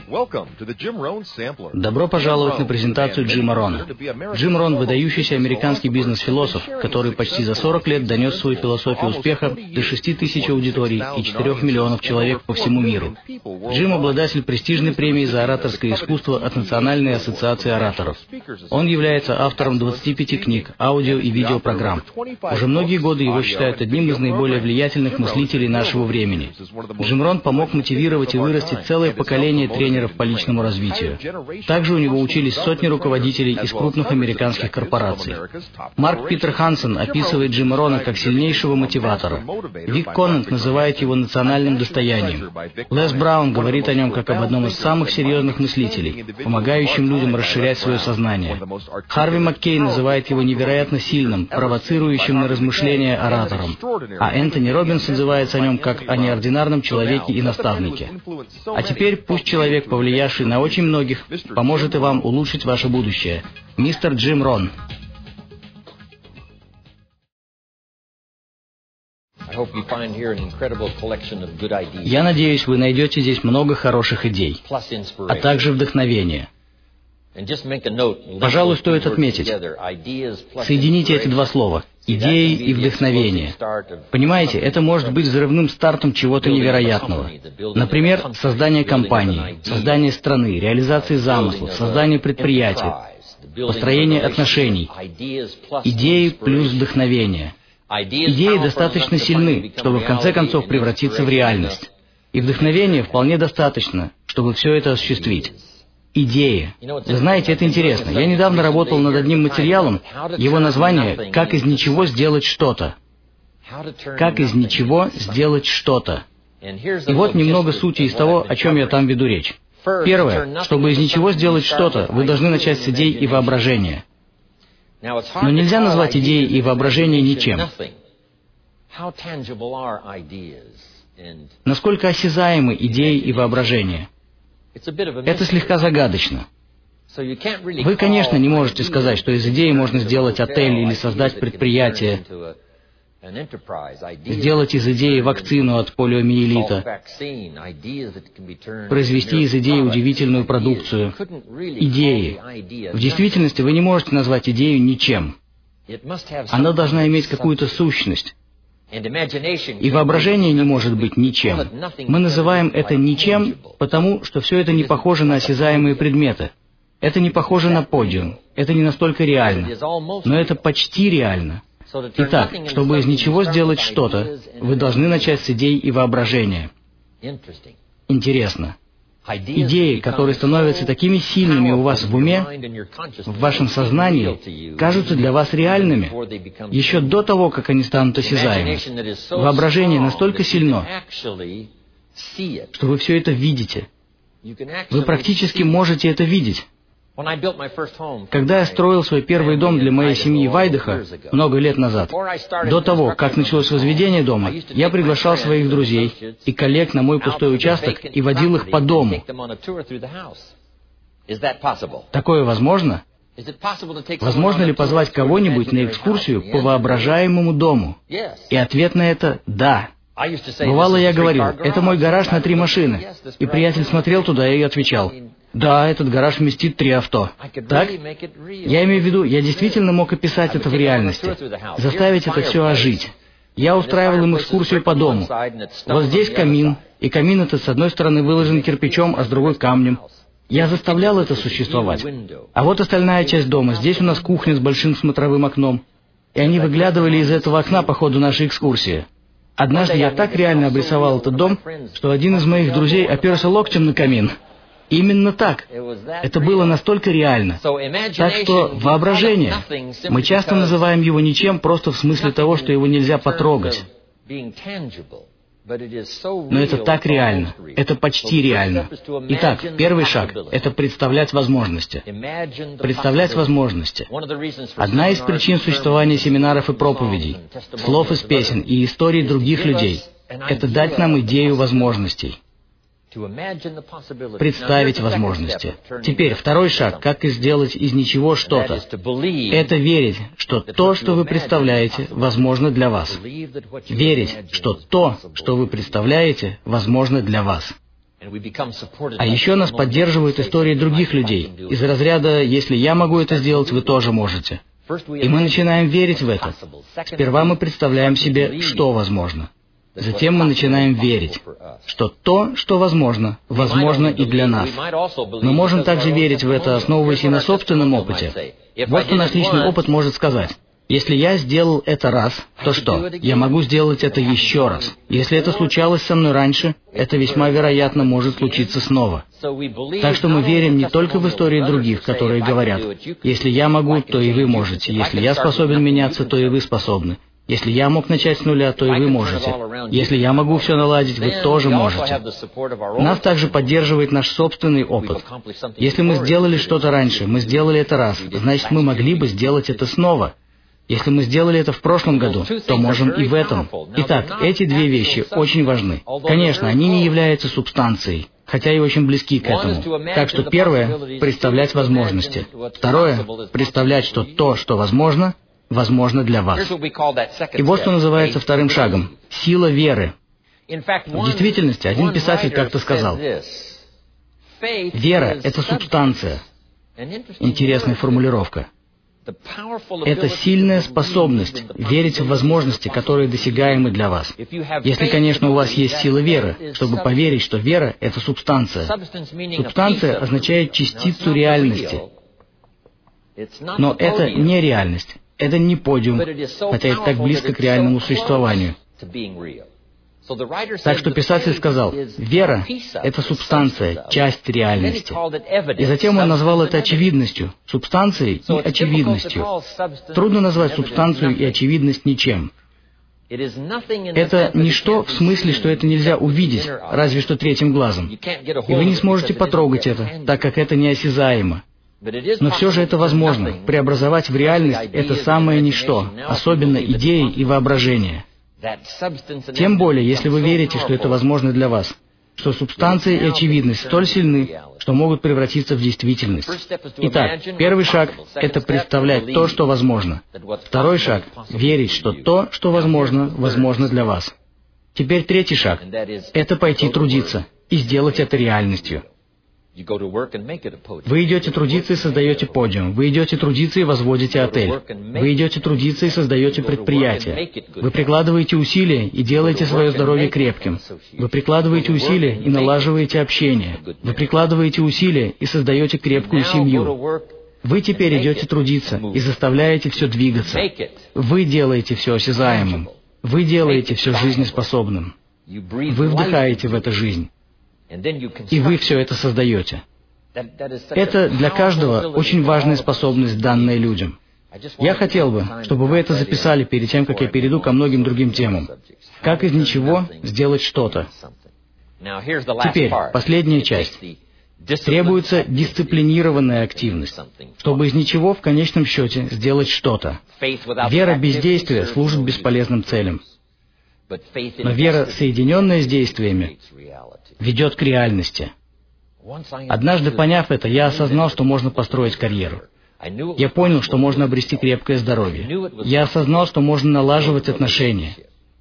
Добро пожаловать на презентацию Джима Рона. Джим Рон – выдающийся американский бизнес-философ, который почти за 40 лет донес свою философию успеха до 6 тысяч аудиторий и 4 миллионов человек по всему миру. Джим – обладатель престижной премии за ораторское искусство от Национальной ассоциации ораторов. Он является автором 25 книг, аудио и видеопрограмм. Уже многие годы его считают одним из наиболее влиятельных мыслителей нашего времени. Джим Рон помог мотивировать и вырастить целое поколение тренеров по личному развитию. Также у него учились сотни руководителей из крупных американских корпораций. Марк Питер Хансен описывает Джима Рона как сильнейшего мотиватора. Вик Конант называет его национальным достоянием. Лес Браун говорит о нем как об одном из самых серьезных мыслителей, помогающим людям расширять свое сознание. Харви Маккей называет его невероятно сильным, провоцирующим на размышления оратором. А Энтони Роббинс отзывается о нем как о неординарном человеке и наставнике. А теперь пусть человек, повлиявший на очень многих, поможет и вам улучшить ваше будущее. Мистер Джим Рон. Я надеюсь, вы найдете здесь много хороших идей, а также вдохновения. Пожалуй, стоит отметить, соедините эти два слова – идеи и вдохновение. Понимаете, это может быть взрывным стартом чего-то невероятного. Например, создание компании, создание страны, реализация замыслов, создание предприятия, построение отношений. Идеи плюс вдохновение. Идеи достаточно сильны, чтобы в конце концов превратиться в реальность. И вдохновения вполне достаточно, чтобы все это осуществить. Идеи. Вы знаете, это интересно. Я недавно работал над одним материалом, его название «Как из ничего сделать что-то». Как из ничего сделать что-то. И вот немного сути из того, о чем я там веду речь. Первое. Чтобы из ничего сделать что-то, вы должны начать с идей и воображения. Но нельзя назвать идеи и воображение ничем. Насколько осязаемы идеи и воображение? Это слегка загадочно. Вы, конечно, не можете сказать, что из идеи можно сделать отель или создать предприятие, сделать из идеи вакцину от полиомиелита, произвести из идеи удивительную продукцию. Идеи. В действительности вы не можете назвать идею ничем. Она должна иметь какую-то сущность. И воображение не может быть ничем. Мы называем это ничем, потому что все это не похоже на осязаемые предметы. Это не похоже на подиум. Это не настолько реально. Но это почти реально. Итак, чтобы из ничего сделать что-то, вы должны начать с идей и воображения. Интересно. Идеи, которые становятся такими сильными у вас в уме, в вашем сознании, кажутся для вас реальными еще до того, как они станут осязаемыми. Воображение настолько сильно, что вы все это видите. Вы практически можете это видеть. Когда я строил свой первый дом для моей семьи в Айдахо много лет назад, до того, как началось возведение дома, я приглашал своих друзей и коллег на мой пустой участок и водил их по дому. Такое возможно? Возможно ли позвать кого-нибудь на экскурсию по воображаемому дому? И ответ на это – да. Бывало, я говорил, это мой гараж на 3 машины. И приятель смотрел туда и отвечал, да, этот гараж вместит 3 авто. Так? Я имею в виду, я действительно мог описать это в реальности, заставить это все ожить. Я устраивал им экскурсию по дому. Вот здесь камин, и камин этот с одной стороны выложен кирпичом, а с другой камнем. Я заставлял это существовать. А вот остальная часть дома. Здесь у нас кухня с большим смотровым окном. И они выглядывали из этого окна по ходу нашей экскурсии. Однажды я так реально обрисовал этот дом, что один из моих друзей оперся локтем на камин. Именно так. Это было настолько реально. Так что воображение. Мы часто называем его ничем просто в смысле того, что его нельзя потрогать. Но это так реально. Это почти реально. Итак, первый шаг – это представлять возможности. Представлять возможности. Одна из причин существования семинаров и проповедей, слов из песен и историй других людей – это дать нам идею возможностей. Представить возможности. Теперь второй шаг, как сделать из ничего что-то. Это верить, что то, что вы представляете, возможно для вас. Верить, что то, что вы представляете, возможно для вас. А еще нас поддерживают истории других людей, из разряда «если я могу это сделать, вы тоже можете». И мы начинаем верить в это. Сперва мы представляем себе, что возможно. Затем мы начинаем верить, что то, что возможно, возможно и для нас. Мы можем также верить в это, основываясь и на собственном опыте. Вот что наш личный опыт может сказать. Если я сделал это раз, то что? Я могу сделать это еще раз. Если это случалось со мной раньше, это весьма вероятно может случиться снова. Так что мы верим не только в истории других, которые говорят, «Если я могу, то и вы можете. Если я способен меняться, то и вы способны. Если я мог начать с нуля, то и вы можете. Если я могу все наладить, вы тоже можете». Нас также поддерживает наш собственный опыт. Если мы сделали что-то раньше, мы сделали это раз, значит, мы могли бы сделать это снова. Если мы сделали это в прошлом году, то можем и в этом. Итак, эти две вещи очень важны. Конечно, они не являются субстанцией, хотя и очень близки к этому. Так что первое — представлять возможности. Второе — представлять, что то, что возможно, возможно для вас. И вот что называется вторым шагом — сила веры. В действительности, один писатель как-то сказал, «Вера — это субстанция». Интересная формулировка. Это сильная способность верить в возможности, которые досягаемы для вас. Если, конечно, у вас есть сила веры, чтобы поверить, что вера — это субстанция. Субстанция означает частицу реальности. Но это не реальность, это не подиум, хотя это так близко к реальному существованию. Так что писатель сказал, вера — это субстанция, часть реальности. И затем он назвал это очевидностью, субстанцией и очевидностью. Трудно назвать субстанцию и очевидность ничем. Это ничто в смысле, что это нельзя увидеть, разве что третьим глазом. И вы не сможете потрогать это, так как это неосязаемо. Но все же это возможно. Преобразовать в реальность это самое ничто, особенно идеи и воображение. Тем более, если вы верите, что это возможно для вас, что субстанция и очевидность столь сильны, что могут превратиться в действительность. Итак, первый шаг — это представлять то, что возможно. Второй шаг — верить, что то, что возможно, возможно для вас. Теперь третий шаг — это пойти трудиться и сделать это реальностью. Вы идете трудиться и создаете подиум. Вы идете трудиться и возводите отель. Вы идете трудиться и создаете предприятие. Вы прикладываете усилия и делаете свое здоровье крепким. Вы прикладываете усилия и налаживаете общение. Вы прикладываете усилия и создаете крепкую семью. Вы теперь идете трудиться и заставляете все двигаться. Вы делаете все осязаемым. Вы делаете все жизнеспособным. Вы вдыхаете в эту жизнь. И вы все это создаете. Это для каждого очень важная способность, данная людям. Я хотел бы, чтобы вы это записали перед тем, как я перейду ко многим другим темам. Как из ничего сделать что-то. Теперь, последняя часть. Требуется дисциплинированная активность, чтобы из ничего в конечном счете сделать что-то. Вера без действия служит бесполезным целям. Но вера, соединенная с действиями, ведет к реальности. Однажды поняв это, я осознал, что можно построить карьеру. Я понял, что можно обрести крепкое здоровье. Я осознал, что можно налаживать отношения.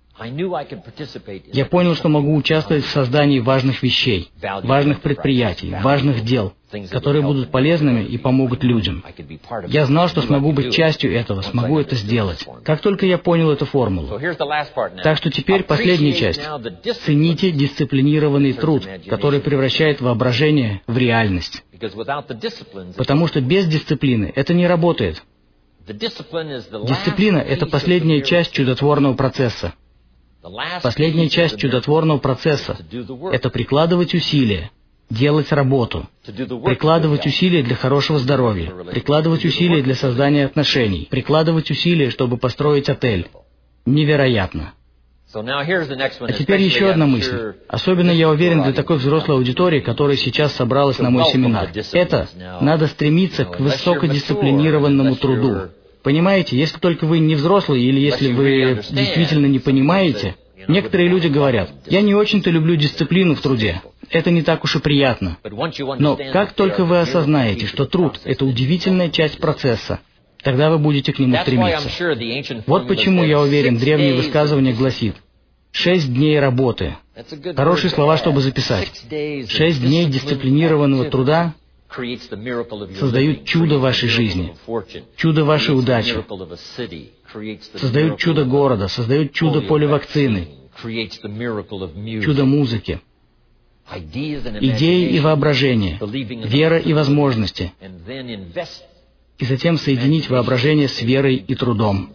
Я понял, что могу участвовать в создании важных вещей, важных предприятий, важных дел, которые будут полезными и помогут людям. Я знал, что смогу быть частью этого, смогу это сделать, как только я понял эту формулу. Так что теперь последняя часть. Цените дисциплинированный труд, который превращает воображение в реальность. Потому что без дисциплины это не работает. Дисциплина — это последняя часть чудотворного процесса. Последняя часть чудотворного процесса — это прикладывать усилия, делать работу, прикладывать усилия для хорошего здоровья, прикладывать усилия для создания отношений, прикладывать усилия, чтобы построить отель. Невероятно. А теперь еще одна мысль. Особенно я уверен для такой взрослой аудитории, которая сейчас собралась на мой семинар. Это надо стремиться к высокодисциплинированному труду. Понимаете, если только вы не взрослый или если вы действительно не понимаете, некоторые люди говорят, я не очень-то люблю дисциплину в труде, это не так уж и приятно. Но как только вы осознаете, что труд — это удивительная часть процесса, тогда вы будете к нему стремиться. Вот почему, я уверен, древнее высказывание гласит, 6 дней работы, Хорошие слова, чтобы записать. 6 дней дисциплинированного труда создают чудо в вашей жизни, чудо вашей удачи, создают чудо города, создают чудо поливакцины, чудо музыки, идеи и воображение, вера и возможности, и затем соединить воображение с верой и трудом.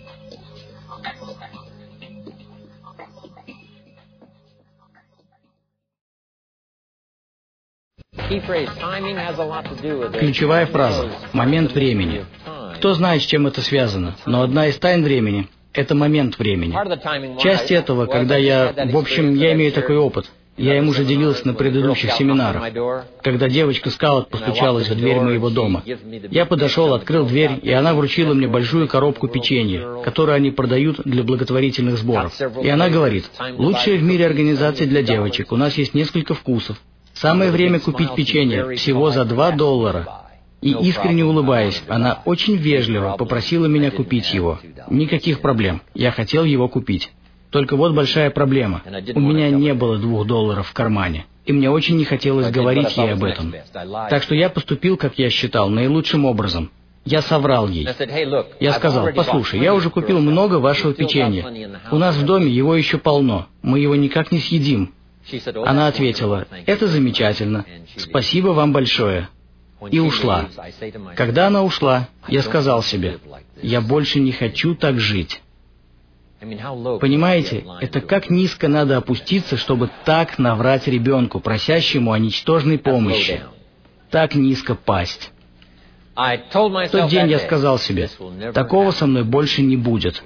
Ключевая фраза – момент времени. Кто знает, с чем это связано, но одна из тайн времени – это момент времени. Часть этого, когда я имею такой опыт. Я им уже делился на предыдущих семинарах. Когда девочка-скаут постучалась в дверь моего дома, я подошел, открыл дверь, и она вручила мне большую коробку печенья, которую они продают для благотворительных сборов. И она говорит: «Лучшая в мире организация для девочек, у нас есть несколько вкусов. Самое время купить печенье, всего за $2. И искренне улыбаясь, она очень вежливо попросила меня купить его. Никаких проблем, я хотел его купить. Только вот большая проблема. У меня не было $2 в кармане, и мне очень не хотелось говорить ей об этом. Так что я поступил, как я считал, наилучшим образом. Я соврал ей. Я сказал: «Послушай, я уже купил много вашего печенья. У нас в доме его еще полно. Мы его никак не съедим». Она ответила: «Это замечательно. Спасибо вам большое». И ушла. Когда она ушла, я сказал себе: «Я больше не хочу так жить». Понимаете, это как низко надо опуститься, чтобы так наврать ребенку, просящему о ничтожной помощи. Так низко пасть. В тот день я сказал себе: такого со мной больше не будет.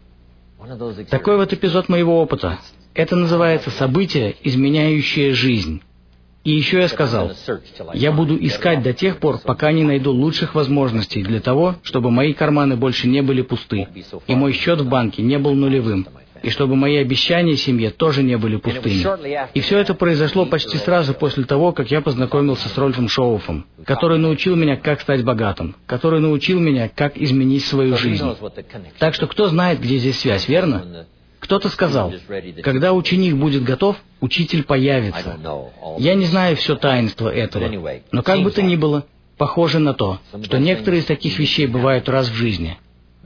Такой вот эпизод моего опыта. Это называется событие, изменяющее жизнь. И еще я сказал: я буду искать до тех пор, пока не найду лучших возможностей для того, чтобы мои карманы больше не были пусты, и мой счет в банке не был нулевым, и чтобы мои обещания семье тоже не были пустыми. И все это произошло почти сразу после того, как я познакомился с Рольфом Шоуфом, который научил меня, как стать богатым, который научил меня, как изменить свою жизнь. Так что кто знает, где здесь связь, верно? Кто-то сказал: когда ученик будет готов, учитель появится. Я не знаю все таинство этого, но как бы то ни было, похоже на то, что некоторые из таких вещей бывают раз в жизни.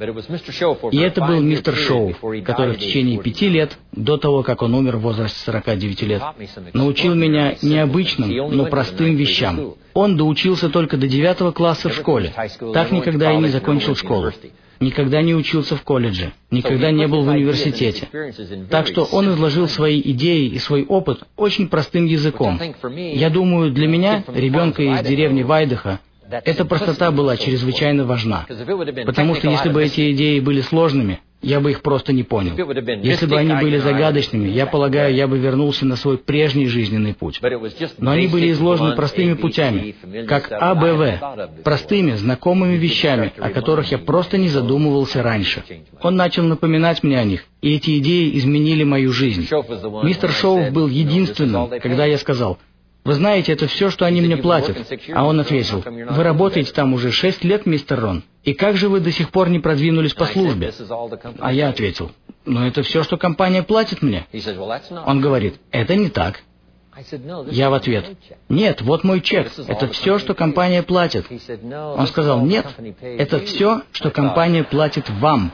И это был мистер Шоуф, который в течение 5 лет, до того, как он умер в возрасте 49 лет, научил меня необычным, но простым вещам. Он доучился только до 9 класса в школе, так никогда и не закончил школу. Никогда не учился в колледже, никогда не был в университете. Так что он изложил свои идеи и свой опыт очень простым языком. Я думаю, для меня, ребенка из деревни Вайдаха, эта простота была чрезвычайно важна. Потому что если бы эти идеи были сложными, я бы их просто не понял. Если бы они были загадочными, я полагаю, я бы вернулся на свой прежний жизненный путь. Но они были изложены простыми путями, как АБВ, простыми, знакомыми вещами, о которых я просто не задумывался раньше. Он начал напоминать мне о них, и эти идеи изменили мою жизнь. Мистер Шоуф был единственным, когда я сказал: «Вы знаете, это все, что они мне платят». А он ответил: «Вы работаете там уже 6 лет, мистер Рон, и как же вы до сих пор не продвинулись по службе?» А я ответил: «Но это все, что компания платит мне». Он говорит: «Это не так». Я в ответ: «Нет, вот мой чек, это все, что компания платит». Он сказал: «Нет, это все, что компания платит вам».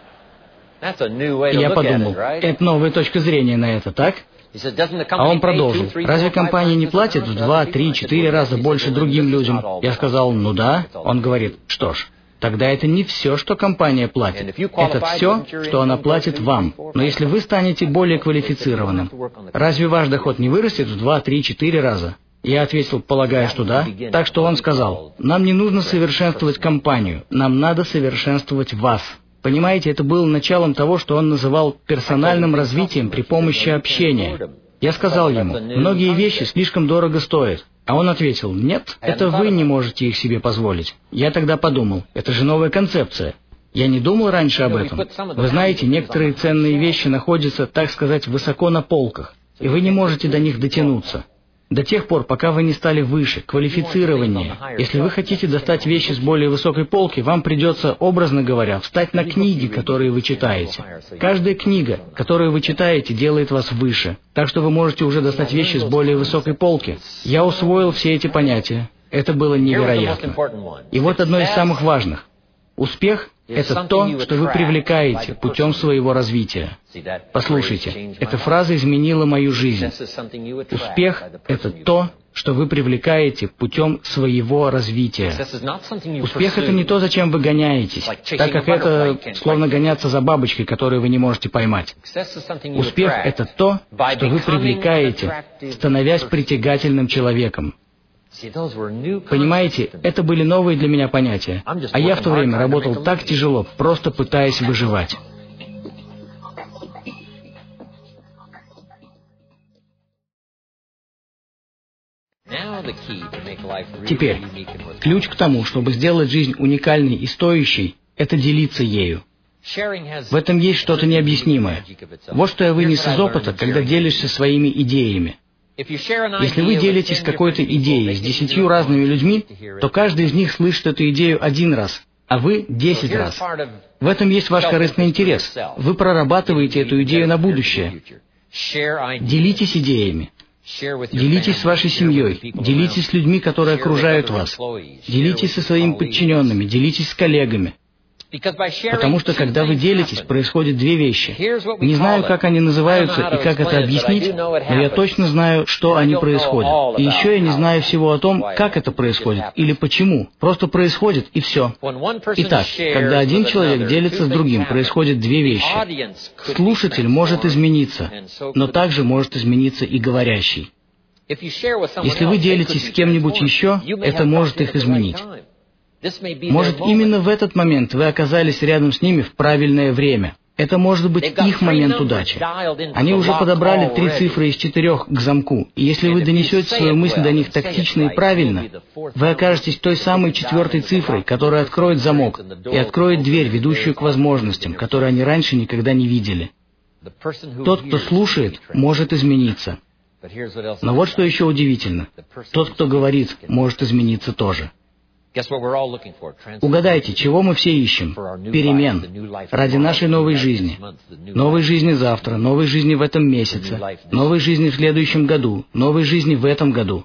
И я подумал: это новая точка зрения на это, так? А он продолжил: «Разве компания не платит в 2, 3, 4 раза больше другим людям?» Я сказал: «Ну да». Он говорит: «Что ж, тогда это не все, что компания платит. Это все, что она платит вам. Но если вы станете более квалифицированным, разве ваш доход не вырастет в 2, 3, 4 раза?» Я ответил, полагая, что да. Так что он сказал: «Нам не нужно совершенствовать компанию, нам надо совершенствовать вас». Понимаете, это было началом того, что он называл персональным развитием при помощи общения. Я сказал ему: «Многие вещи слишком дорого стоят». А он ответил: «Нет, это вы не можете их себе позволить». Я тогда подумал: это же новая концепция. Я не думал раньше об этом. Вы знаете, некоторые ценные вещи находятся, так сказать, высоко на полках, и вы не можете до них дотянуться. До тех пор, пока вы не стали выше, квалифицированнее. Если вы хотите достать вещи с более высокой полки, вам придется, образно говоря, встать на книги, которые вы читаете. Каждая книга, которую вы читаете, делает вас выше. Так что вы можете уже достать вещи с более высокой полки. Я усвоил все эти понятия. Это было невероятно. И вот одно из самых важных. Успех — это то, что вы привлекаете путем своего развития. Послушайте, эта фраза изменила мою жизнь. Успех — это то, что вы привлекаете путем своего развития. Успех — это не то, зачем вы гоняетесь, так как это словно гоняться за бабочкой, которую вы не можете поймать. Успех — это то, что вы привлекаете, становясь притягательным человеком. Понимаете, это были новые для меня понятия, а я в то время работал так тяжело, просто пытаясь выживать. Теперь, ключ к тому, чтобы сделать жизнь уникальной и стоящей, это делиться ею. В этом есть что-то необъяснимое. Вот что я вынес из опыта, когда делишься своими идеями. Если вы делитесь какой-то идеей с 10 разными людьми, то каждый из них слышит эту идею 1 раз, а вы 10 раз. В этом есть ваш корыстный интерес. Вы прорабатываете эту идею на будущее. Делитесь идеями. Делитесь с вашей семьей. Делитесь с людьми, которые окружают вас. Делитесь со своими подчиненными. Делитесь с коллегами. Потому что, когда вы делитесь, происходят 2 вещи. Не знаю, как они называются и как это объяснить, но я точно знаю, что они происходят. И еще я не знаю всего о том, как это происходит или почему. Просто происходит, и все. Итак, когда один человек делится с другим, происходят 2 вещи. Слушатель может измениться, но также может измениться и говорящий. Если вы делитесь с кем-нибудь еще, это может их изменить. Может, именно в этот момент вы оказались рядом с ними в правильное время. Это может быть их момент удачи. Они уже подобрали 3 цифры из 4 к замку, и если вы донесете свою мысль до них тактично и правильно, вы окажетесь той самой 4-й цифрой, которая откроет замок и откроет дверь, ведущую к возможностям, которые они раньше никогда не видели. Тот, кто слушает, может измениться. Но вот что еще удивительно. Тот, кто говорит, может измениться тоже. Угадайте, чего мы все ищем? Перемен. Ради нашей новой жизни. Новой жизни завтра, новой жизни в этом месяце, новой жизни в следующем году, новой жизни в этом году.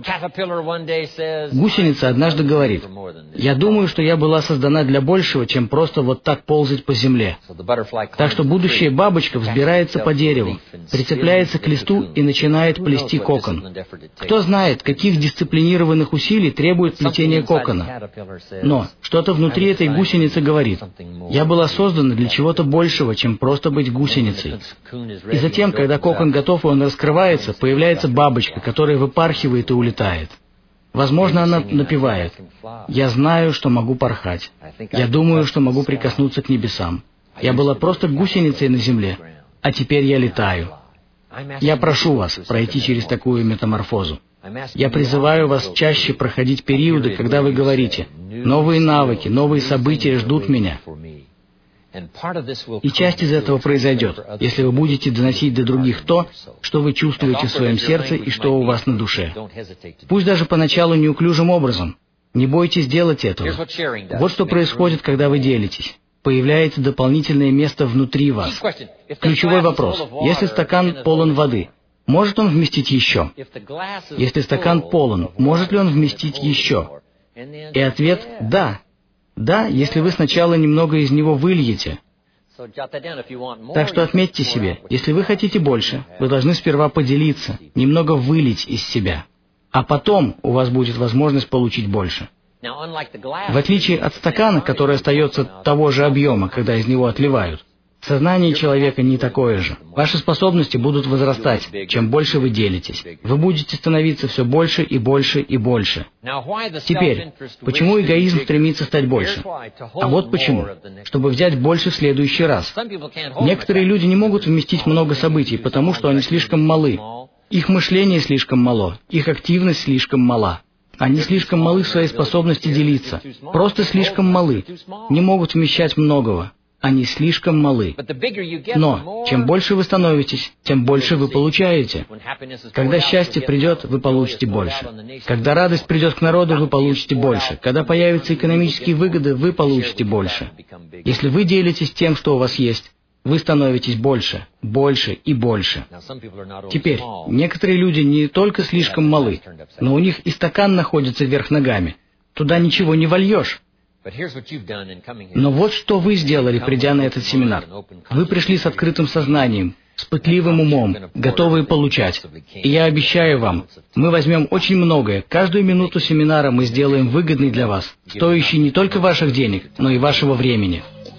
Гусеница однажды говорит: «Я думаю, что я была создана для большего, чем просто вот так ползать по земле». Так что будущая бабочка взбирается по дереву, прицепляется к листу и начинает плести кокон. Кто знает, каких дисциплинированных усилий требует плетение кокона. Но что-то внутри этой гусеницы говорит: «Я была создана для чего-то большего, чем просто быть гусеницей». И затем, когда кокон готов и он раскрывается, появляется бабочка, которая выпархивает и улетает. Возможно, она напевает: «Я знаю, что могу порхать. Я думаю, что могу прикоснуться к небесам. Я была просто гусеницей на земле, а теперь я летаю». Я прошу вас пройти через такую метаморфозу. Я призываю вас чаще проходить периоды, когда вы говорите: «Новые навыки, новые события ждут меня». И часть из этого произойдет, если вы будете доносить до других то, что вы чувствуете в своем сердце и что у вас на душе. Пусть даже поначалу неуклюжим образом. Не бойтесь делать этого. Вот что происходит, когда вы делитесь. Появляется дополнительное место внутри вас. Ключевой вопрос. Если стакан полон воды, может он вместить еще? Если стакан полон, может ли он вместить еще? И ответ – да. Да, если вы сначала немного из него выльете. Так что отметьте себе, если вы хотите больше, вы должны сперва поделиться, немного вылить из себя. А потом у вас будет возможность получить больше. В отличие от стакана, который остается того же объема, когда из него отливают, сознание человека не такое же. Ваши способности будут возрастать, чем больше вы делитесь. Вы будете становиться все больше и больше и больше. Теперь, почему эгоизм стремится стать больше? А вот почему. Чтобы взять больше в следующий раз. Некоторые люди не могут вместить много событий, потому что они слишком малы. Их мышление слишком мало, их активность слишком мала. Они слишком малы в своей способности делиться. Просто слишком малы. Не могут вмещать многого. они слишком малы. Но чем больше вы становитесь, тем больше вы получаете. Когда счастье придет, вы получите больше. Когда радость придет к народу, вы получите больше. Когда появятся экономические выгоды, вы получите больше. Если вы делитесь тем, что у вас есть, вы становитесь больше, больше и больше. Теперь, некоторые люди не только слишком малы, но у них и стакан находится вверх ногами. Туда ничего не вольешь. Но вот что вы сделали, придя на этот семинар. Вы пришли с открытым сознанием, с пытливым умом, готовые получать. И я обещаю вам, мы возьмем очень многое. Каждую минуту семинара мы сделаем выгодной для вас, стоящей не только ваших денег, но и вашего времени.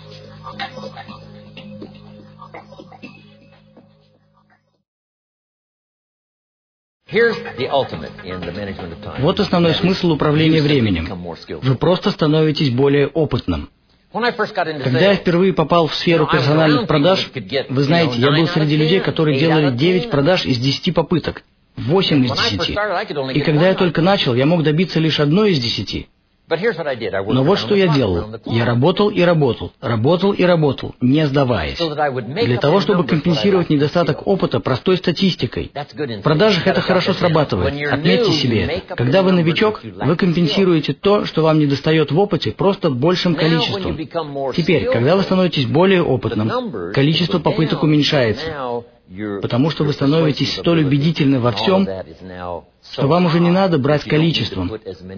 Вот основной смысл управления временем. Вы просто становитесь более опытным. Когда я впервые попал в сферу персональных продаж, вы знаете, я был среди людей, которые делали 9 продаж из 10 попыток, 8 из 10. И когда я только начал, я мог добиться лишь 1 из 10. Но вот что я делал. Я работал и работал, работал и работал, не сдаваясь. Для того, чтобы компенсировать недостаток опыта простой статистикой. В продажах это хорошо срабатывает. Отметьте себе это. Когда вы новичок, вы компенсируете то, что вам недостает в опыте, просто большим количеством. Теперь, когда вы становитесь более опытным, количество попыток уменьшается. Потому что вы становитесь столь убедительны во всем, что вам уже не надо брать количеством.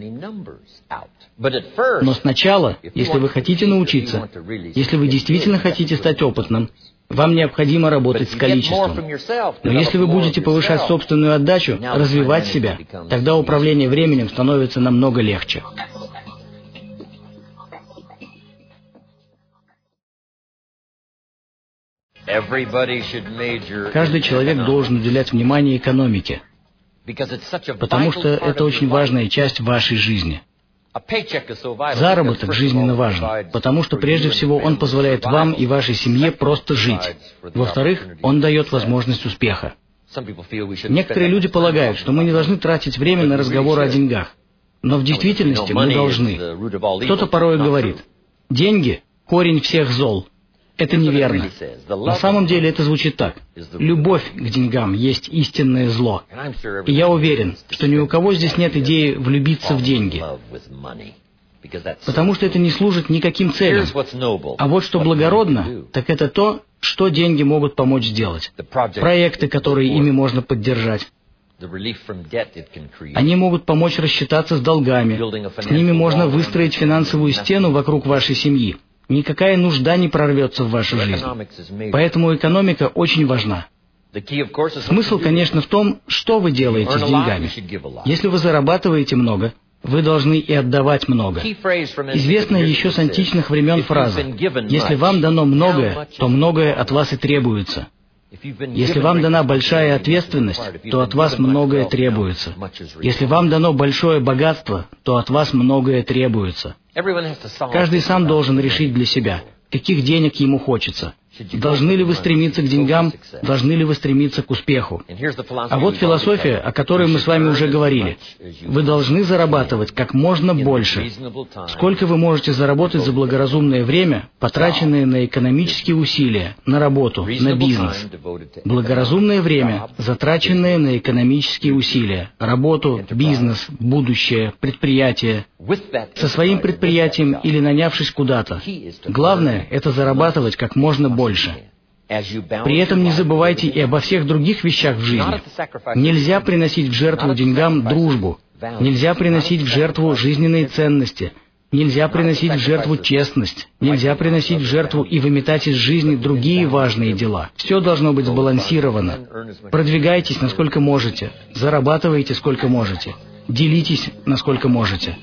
Но сначала, если вы хотите научиться, если вы действительно хотите стать опытным, вам необходимо работать с количеством. Но если вы будете повышать собственную отдачу, развивать себя, тогда управление временем становится намного легче. Каждый человек должен уделять внимание экономике, потому что это очень важная часть вашей жизни. Заработок жизненно важен, потому что прежде всего он позволяет вам и вашей семье просто жить. Во-вторых, он дает возможность успеха. Некоторые люди полагают, что мы не должны тратить время на разговоры о деньгах, но в действительности мы должны. Кто-то порой говорит: «Деньги – корень всех зол». Это неверно. На самом деле это звучит так. Любовь к деньгам есть истинное зло. И я уверен, что ни у кого здесь нет идеи влюбиться в деньги. Потому что это не служит никаким целям. А вот что благородно, так это то, что деньги могут помочь сделать. Проекты, которые ими можно поддержать. Они могут помочь рассчитаться с долгами. С ними можно выстроить финансовую стену вокруг вашей семьи. Никакая нужда не прорвется в вашу жизнь. Поэтому экономика очень важна. Смысл, конечно, в том, что вы делаете с деньгами. Если вы зарабатываете много, вы должны и отдавать много. Известная еще с античных времен фраза: «Если вам дано многое, то многое от вас и требуется». Если вам дана большая ответственность, то от вас многое требуется. Если вам дано большое богатство, то от вас многое требуется. Каждый сам должен решить для себя, каких денег ему хочется. Должны ли вы стремиться к деньгам, должны ли вы стремиться к успеху? А вот философия, о которой мы с вами уже говорили. Вы должны зарабатывать как можно больше. Сколько вы можете заработать за благоразумное время, потраченное на экономические усилия, на работу, на бизнес? Благоразумное время, затраченное на экономические усилия, работу, бизнес, будущее, предприятие. Со своим предприятием или нанявшись куда-то. Главное – это зарабатывать как можно больше. При этом не забывайте и обо всех других вещах в жизни. Нельзя приносить в жертву деньгам дружбу. Нельзя приносить в жертву жизненные ценности. Нельзя приносить в жертву честность. Нельзя приносить в жертву и выметать из жизни другие важные дела. Все должно быть сбалансировано. Продвигайтесь, насколько можете. Зарабатывайте, сколько можете. Делитесь, насколько можете.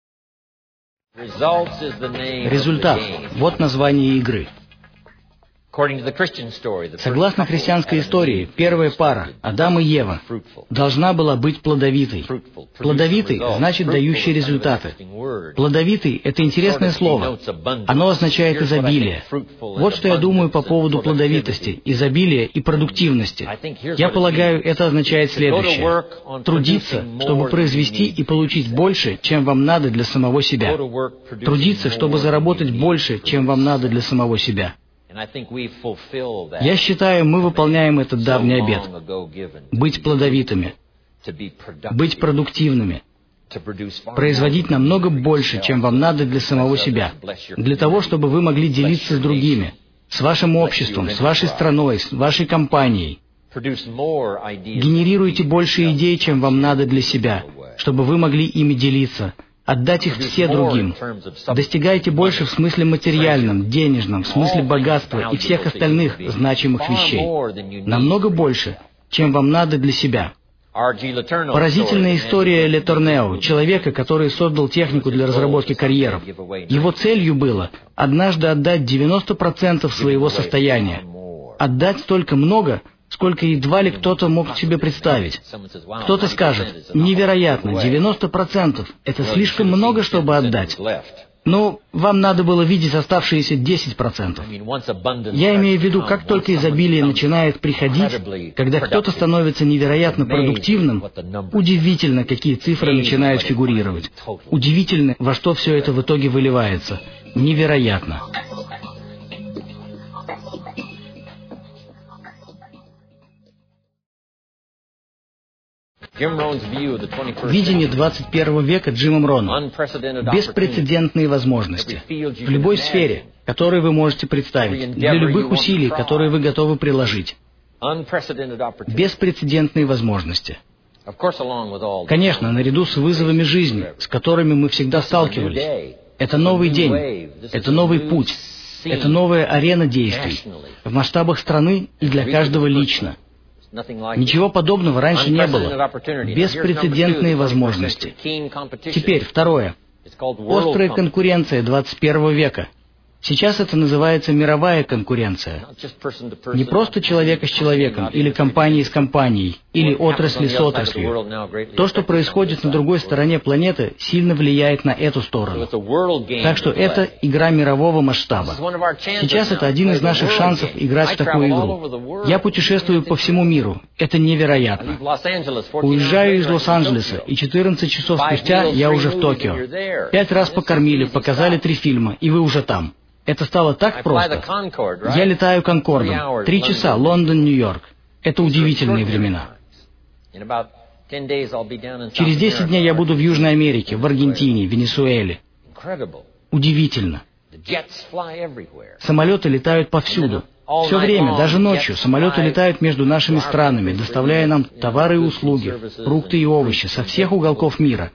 Результат – вот название игры. Согласно христианской истории, первая пара, Адам и Ева, должна была быть плодовитой. Плодовитый значит дающий результаты. Плодовитый — это интересное слово. Оно означает изобилие. Вот что я думаю по поводу плодовитости, изобилия и продуктивности. Я полагаю, это означает следующее. Трудиться, чтобы произвести и получить больше, чем вам надо для самого себя. Трудиться, чтобы заработать больше, чем вам надо для самого себя. Я считаю, мы выполняем этот давний обет. Быть плодовитыми, быть продуктивными, производить намного больше, чем вам надо для самого себя, для того, чтобы вы могли делиться с другими, с вашим обществом, с вашей страной, с вашей компанией. Генерируйте больше идей, чем вам надо для себя, чтобы вы могли ими делиться, отдать их все другим. Достигайте больше в смысле материальном, денежном, в смысле богатства и всех остальных значимых вещей. Намного больше, чем вам надо для себя. Поразительная история Ле Торнео, человека, который создал технику для разработки карьеров. Его целью было однажды отдать 90% своего состояния. Отдать столько много, сколько едва ли кто-то мог себе представить. Кто-то скажет: невероятно, 90%, это слишком много, чтобы отдать. Но вам надо было видеть оставшиеся 10%. Я имею в виду, как только изобилие начинает приходить, когда кто-то становится невероятно продуктивным, удивительно, какие цифры начинают фигурировать. Удивительно, во что все это в итоге выливается. Невероятно. Видение 21 века Джимом Роном. Беспрецедентные возможности. В любой сфере, которую вы можете представить, для любых усилий, которые вы готовы приложить. Беспрецедентные возможности. Конечно, наряду с вызовами жизни, с которыми мы всегда сталкивались. Это новый день, это новый путь, это новая арена действий, в масштабах страны и для каждого лично. Ничего подобного раньше не было. Беспрецедентные возможности. Теперь, второе. Острая конкуренция 21 века. Сейчас это называется мировая конкуренция. Не просто человека с человеком, или компании с компанией, или отрасли с отраслью. То, что происходит на другой стороне планеты, сильно влияет на эту сторону. Так что это игра мирового масштаба. Сейчас это один из наших шансов играть в такую игру. Я путешествую по всему миру. Это невероятно. Уезжаю из Лос-Анджелеса, и 14 часов спустя я уже в Токио. 5 раз покормили, показали 3 фильма, и вы уже там. Это стало так просто. Я летаю Конкордом. 3 часа, Лондон, Нью-Йорк. Это удивительные времена. Через 10 дней я буду в Южной Америке, в Аргентине, Венесуэле. Удивительно. Самолеты летают повсюду. Все время, даже ночью, самолеты летают между нашими странами, доставляя нам товары и услуги, фрукты и овощи со всех уголков мира.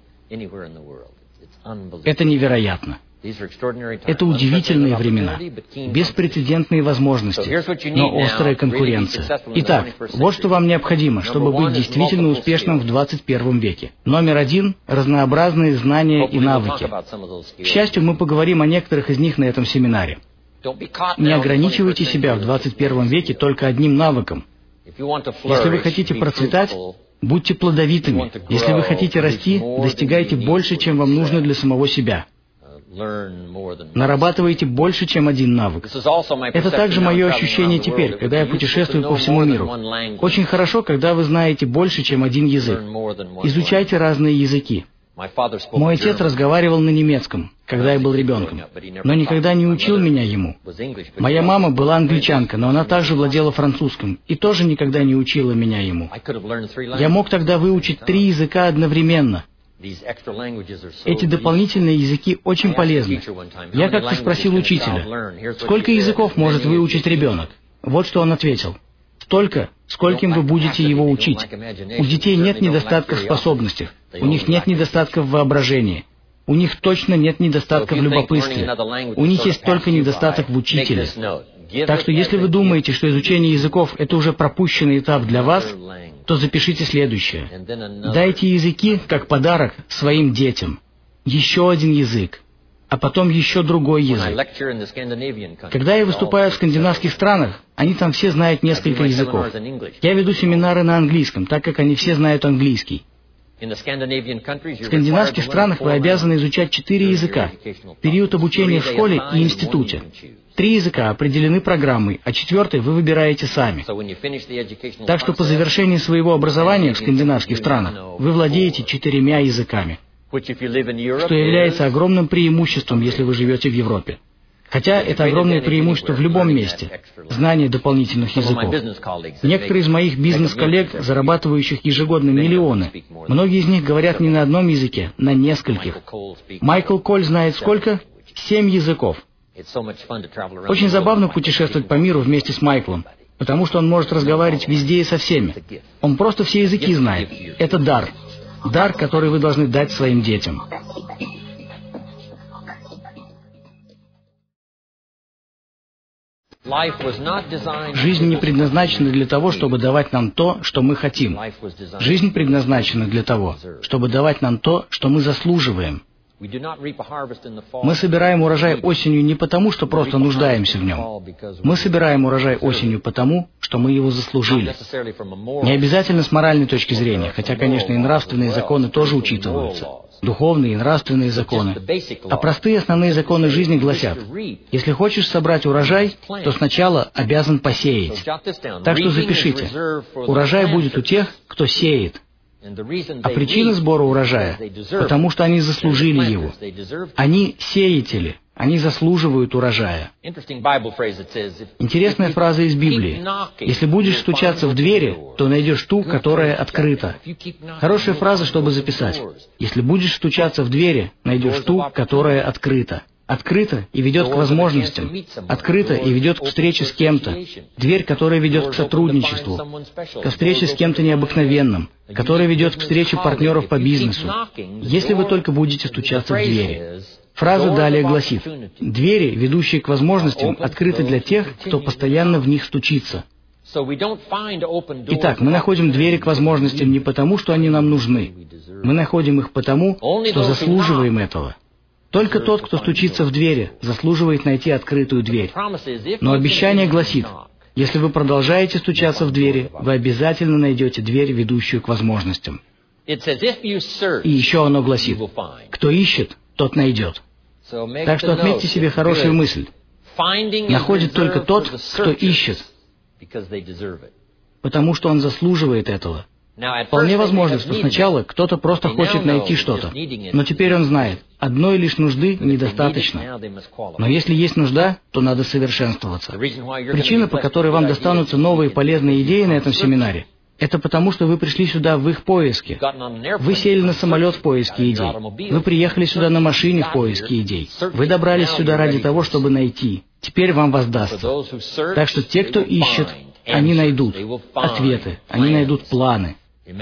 Это невероятно. Это удивительные времена, беспрецедентные возможности, но острая конкуренция. Итак, вот что вам необходимо, чтобы быть действительно успешным в 21 веке. Номер 1 – разнообразные знания и навыки. К счастью, мы поговорим о некоторых из них на этом семинаре. Не ограничивайте себя в 21 веке только одним навыком. Если вы хотите процветать, будьте плодовитыми. Если вы хотите расти, достигайте больше, чем вам нужно для самого себя. Нарабатываете больше, чем один навык. Это также мое ощущение теперь, когда я путешествую по всему миру. Очень хорошо, когда вы знаете больше, чем один язык. Изучайте разные языки. Мой отец разговаривал на немецком, когда я был ребенком, но никогда не учил меня ему. Моя мама была англичанка, но она также владела французским и тоже никогда не учила меня ему. Я мог тогда выучить 3 языка одновременно. Эти дополнительные языки очень полезны. Я как-то спросил учителя, сколько языков может выучить ребенок? Вот что он ответил. Столько, скольким вы будете его учить. У детей нет недостатка в способностях, у них нет недостатка в воображении, у них точно нет недостатка в любопытстве, у них есть только недостаток в учителе. Так что если вы думаете, что изучение языков – это уже пропущенный этап для вас, то запишите следующее. Дайте языки, как подарок, своим детям. Еще один язык. а потом еще другой язык. Когда я выступаю в скандинавских странах, они там все знают несколько языков. Я веду семинары на английском, так как они все знают английский. В скандинавских странах вы обязаны изучать 4 языка в период обучения в школе и институте. 3 языка определены программой, а 4-й вы выбираете сами. Так что по завершении своего образования в скандинавских странах вы владеете 4 языками, что является огромным преимуществом, если вы живете в Европе. Хотя это огромное преимущество в любом месте – знание дополнительных языков. Некоторые из моих бизнес-коллег, зарабатывающих ежегодно миллионы, многие из них говорят не на одном языке, на нескольких. Майкл Коль знает сколько? 7 языков. Очень забавно путешествовать по миру вместе с Майклом, потому что он может разговаривать везде и со всеми. Он просто все языки знает. Это дар. Дар, который вы должны дать своим детям. Жизнь не предназначена для того, чтобы давать нам то, что мы хотим. Жизнь предназначена для того, чтобы давать нам то, что мы заслуживаем. Мы собираем урожай осенью не потому, что просто нуждаемся в нем. Мы собираем урожай осенью потому, что мы его заслужили. Не обязательно с моральной точки зрения, хотя, конечно, и нравственные законы тоже учитываются. Духовные и нравственные законы. А простые основные законы жизни гласят: если хочешь собрать урожай, то сначала обязан посеять. Так что запишите. Урожай будет у тех, кто сеет. А причина сбора урожая – потому что они заслужили его. Они сеятели, они заслуживают урожая. Интересная фраза из Библии. Если будешь стучаться в двери, то найдешь ту, которая открыта. Хорошая фраза, чтобы записать. Если будешь стучаться в двери, найдешь ту, которая открыта. Открыто и ведет к возможностям. Открыто и ведет к встрече с кем-то. Дверь, которая ведет к сотрудничеству. Ко встрече с кем-то необыкновенным. Которая ведет к встрече партнеров по бизнесу. Если вы только будете стучаться в двери. Фраза далее гласит: двери, ведущие к возможностям, открыты для тех, кто постоянно в них стучится. Итак, мы находим двери к возможностям не потому, что они нам нужны. Мы находим их потому, что заслуживаем этого. Только тот, кто стучится в двери, заслуживает найти открытую дверь. Но обещание гласит: если вы продолжаете стучаться в двери, вы обязательно найдете дверь, ведущую к возможностям. И еще оно гласит: кто ищет, тот найдет. Так что отметьте себе хорошую мысль. Находит только тот, кто ищет, потому что он заслуживает этого. Вполне возможно, что сначала кто-то просто хочет найти что-то, но теперь он знает, одной лишь нужды недостаточно. Но если есть нужда, то надо совершенствоваться. Причина, по которой вам достанутся новые полезные идеи на этом семинаре, это потому, что вы пришли сюда в их поиске. Вы сели на самолет в поиске идей. Вы приехали сюда на машине в поиске идей. Вы добрались сюда ради того, чтобы найти. Теперь вам воздастся. Так что те, кто ищет, они найдут ответы, они найдут планы.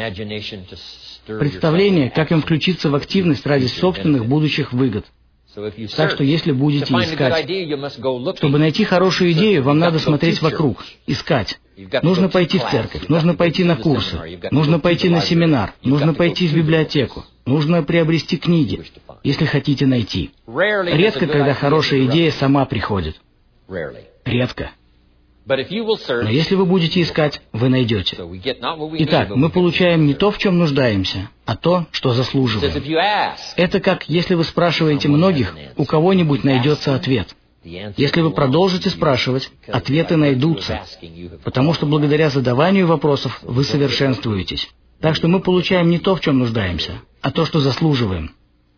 Представление, как им включиться в активность ради собственных будущих выгод. Так что если будете искать, чтобы найти хорошую идею, вам надо смотреть вокруг, искать. Нужно пойти в церковь, нужно пойти на курсы, нужно пойти на семинар, нужно пойти в библиотеку, нужно приобрести книги, если хотите найти. Редко, когда хорошая идея сама приходит. Редко. Но если вы будете искать, вы найдете. Итак, мы получаем не то, в чем нуждаемся, а то, что заслуживаем. Это как, если вы спрашиваете многих, у кого-нибудь найдется ответ. Если вы продолжите спрашивать, ответы найдутся, потому что благодаря задаванию вопросов вы совершенствуетесь. Так что мы получаем не то, в чем нуждаемся, а то, что заслуживаем.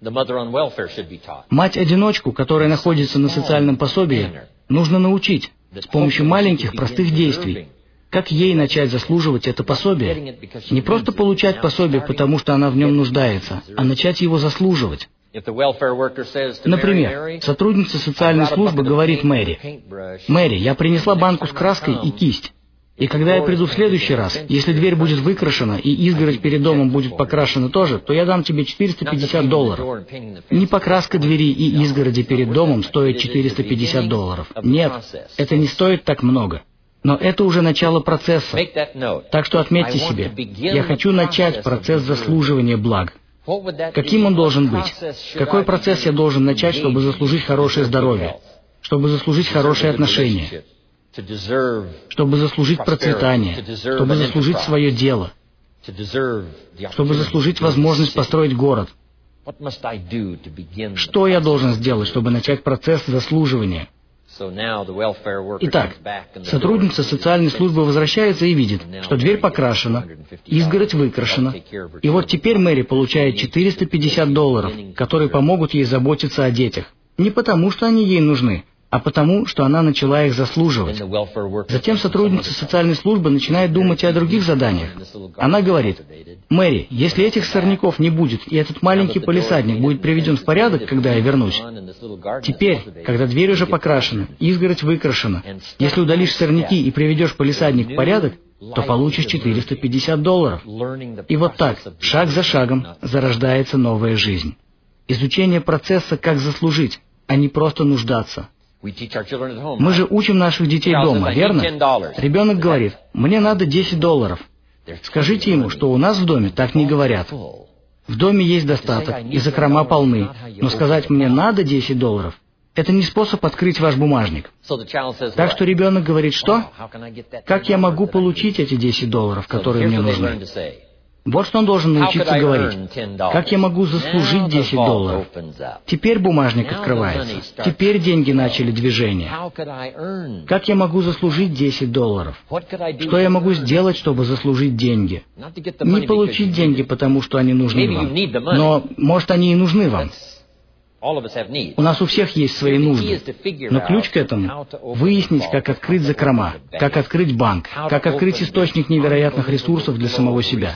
Мать-одиночку, которая находится на социальном пособии, нужно научить с помощью маленьких простых действий. Как ей начать заслуживать это пособие? Не просто получать пособие, потому что она в нем нуждается, а начать его заслуживать. Например, сотрудница социальной службы говорит Мэри: «Мэри, я принесла банку с краской и кисть. И когда я приду в следующий раз, если дверь будет выкрашена и изгородь перед домом будет покрашена тоже, то я дам тебе $450. Не покраска двери и изгороди перед домом стоит $450. Нет, это не стоит так много. Но это уже начало процесса. Так что отметьте себе, я хочу начать процесс заслуживания благ. Каким он должен быть? Какой процесс я должен начать, чтобы заслужить хорошее здоровье, чтобы заслужить хорошие отношения, чтобы заслужить процветание, чтобы заслужить свое дело, чтобы заслужить возможность построить город? Что я должен сделать, чтобы начать процесс заслуживания? Итак, сотрудница социальной службы возвращается и видит, что дверь покрашена, изгородь выкрашена, и вот теперь Мэри получает $450, которые помогут ей заботиться о детях. Не потому, что они ей нужны, а потому, что она начала их заслуживать. Затем сотрудница социальной службы начинает думать и о других заданиях. Она говорит: «Мэри, если этих сорняков не будет, и этот маленький палисадник будет приведен в порядок, когда я вернусь, теперь, когда дверь уже покрашена, изгородь выкрашена, если удалишь сорняки и приведешь палисадник в порядок, то получишь $450. И вот так, шаг за шагом, зарождается новая жизнь. Изучение процесса «как заслужить», а не просто нуждаться. Мы же учим наших детей дома, верно? Ребенок говорит: «Мне надо $10. Скажите ему, что у нас в доме так не говорят. В доме есть достаток, и закрома полны, но сказать «мне надо $10» — это не способ открыть ваш бумажник». Так что ребенок говорит: «Что? Как я могу получить эти $10, которые мне нужны?» Вот что он должен научиться говорить. «Как я могу заслужить $10? Теперь бумажник открывается. Теперь деньги начали движение. Как я могу заслужить $10? Что я могу сделать, чтобы заслужить деньги? Не получить деньги, потому что они нужны вам. Но, может, они и нужны вам. У нас у всех есть свои нужды, но ключ к этому — выяснить, как открыть закрома, как открыть банк, как открыть источник невероятных ресурсов для самого себя.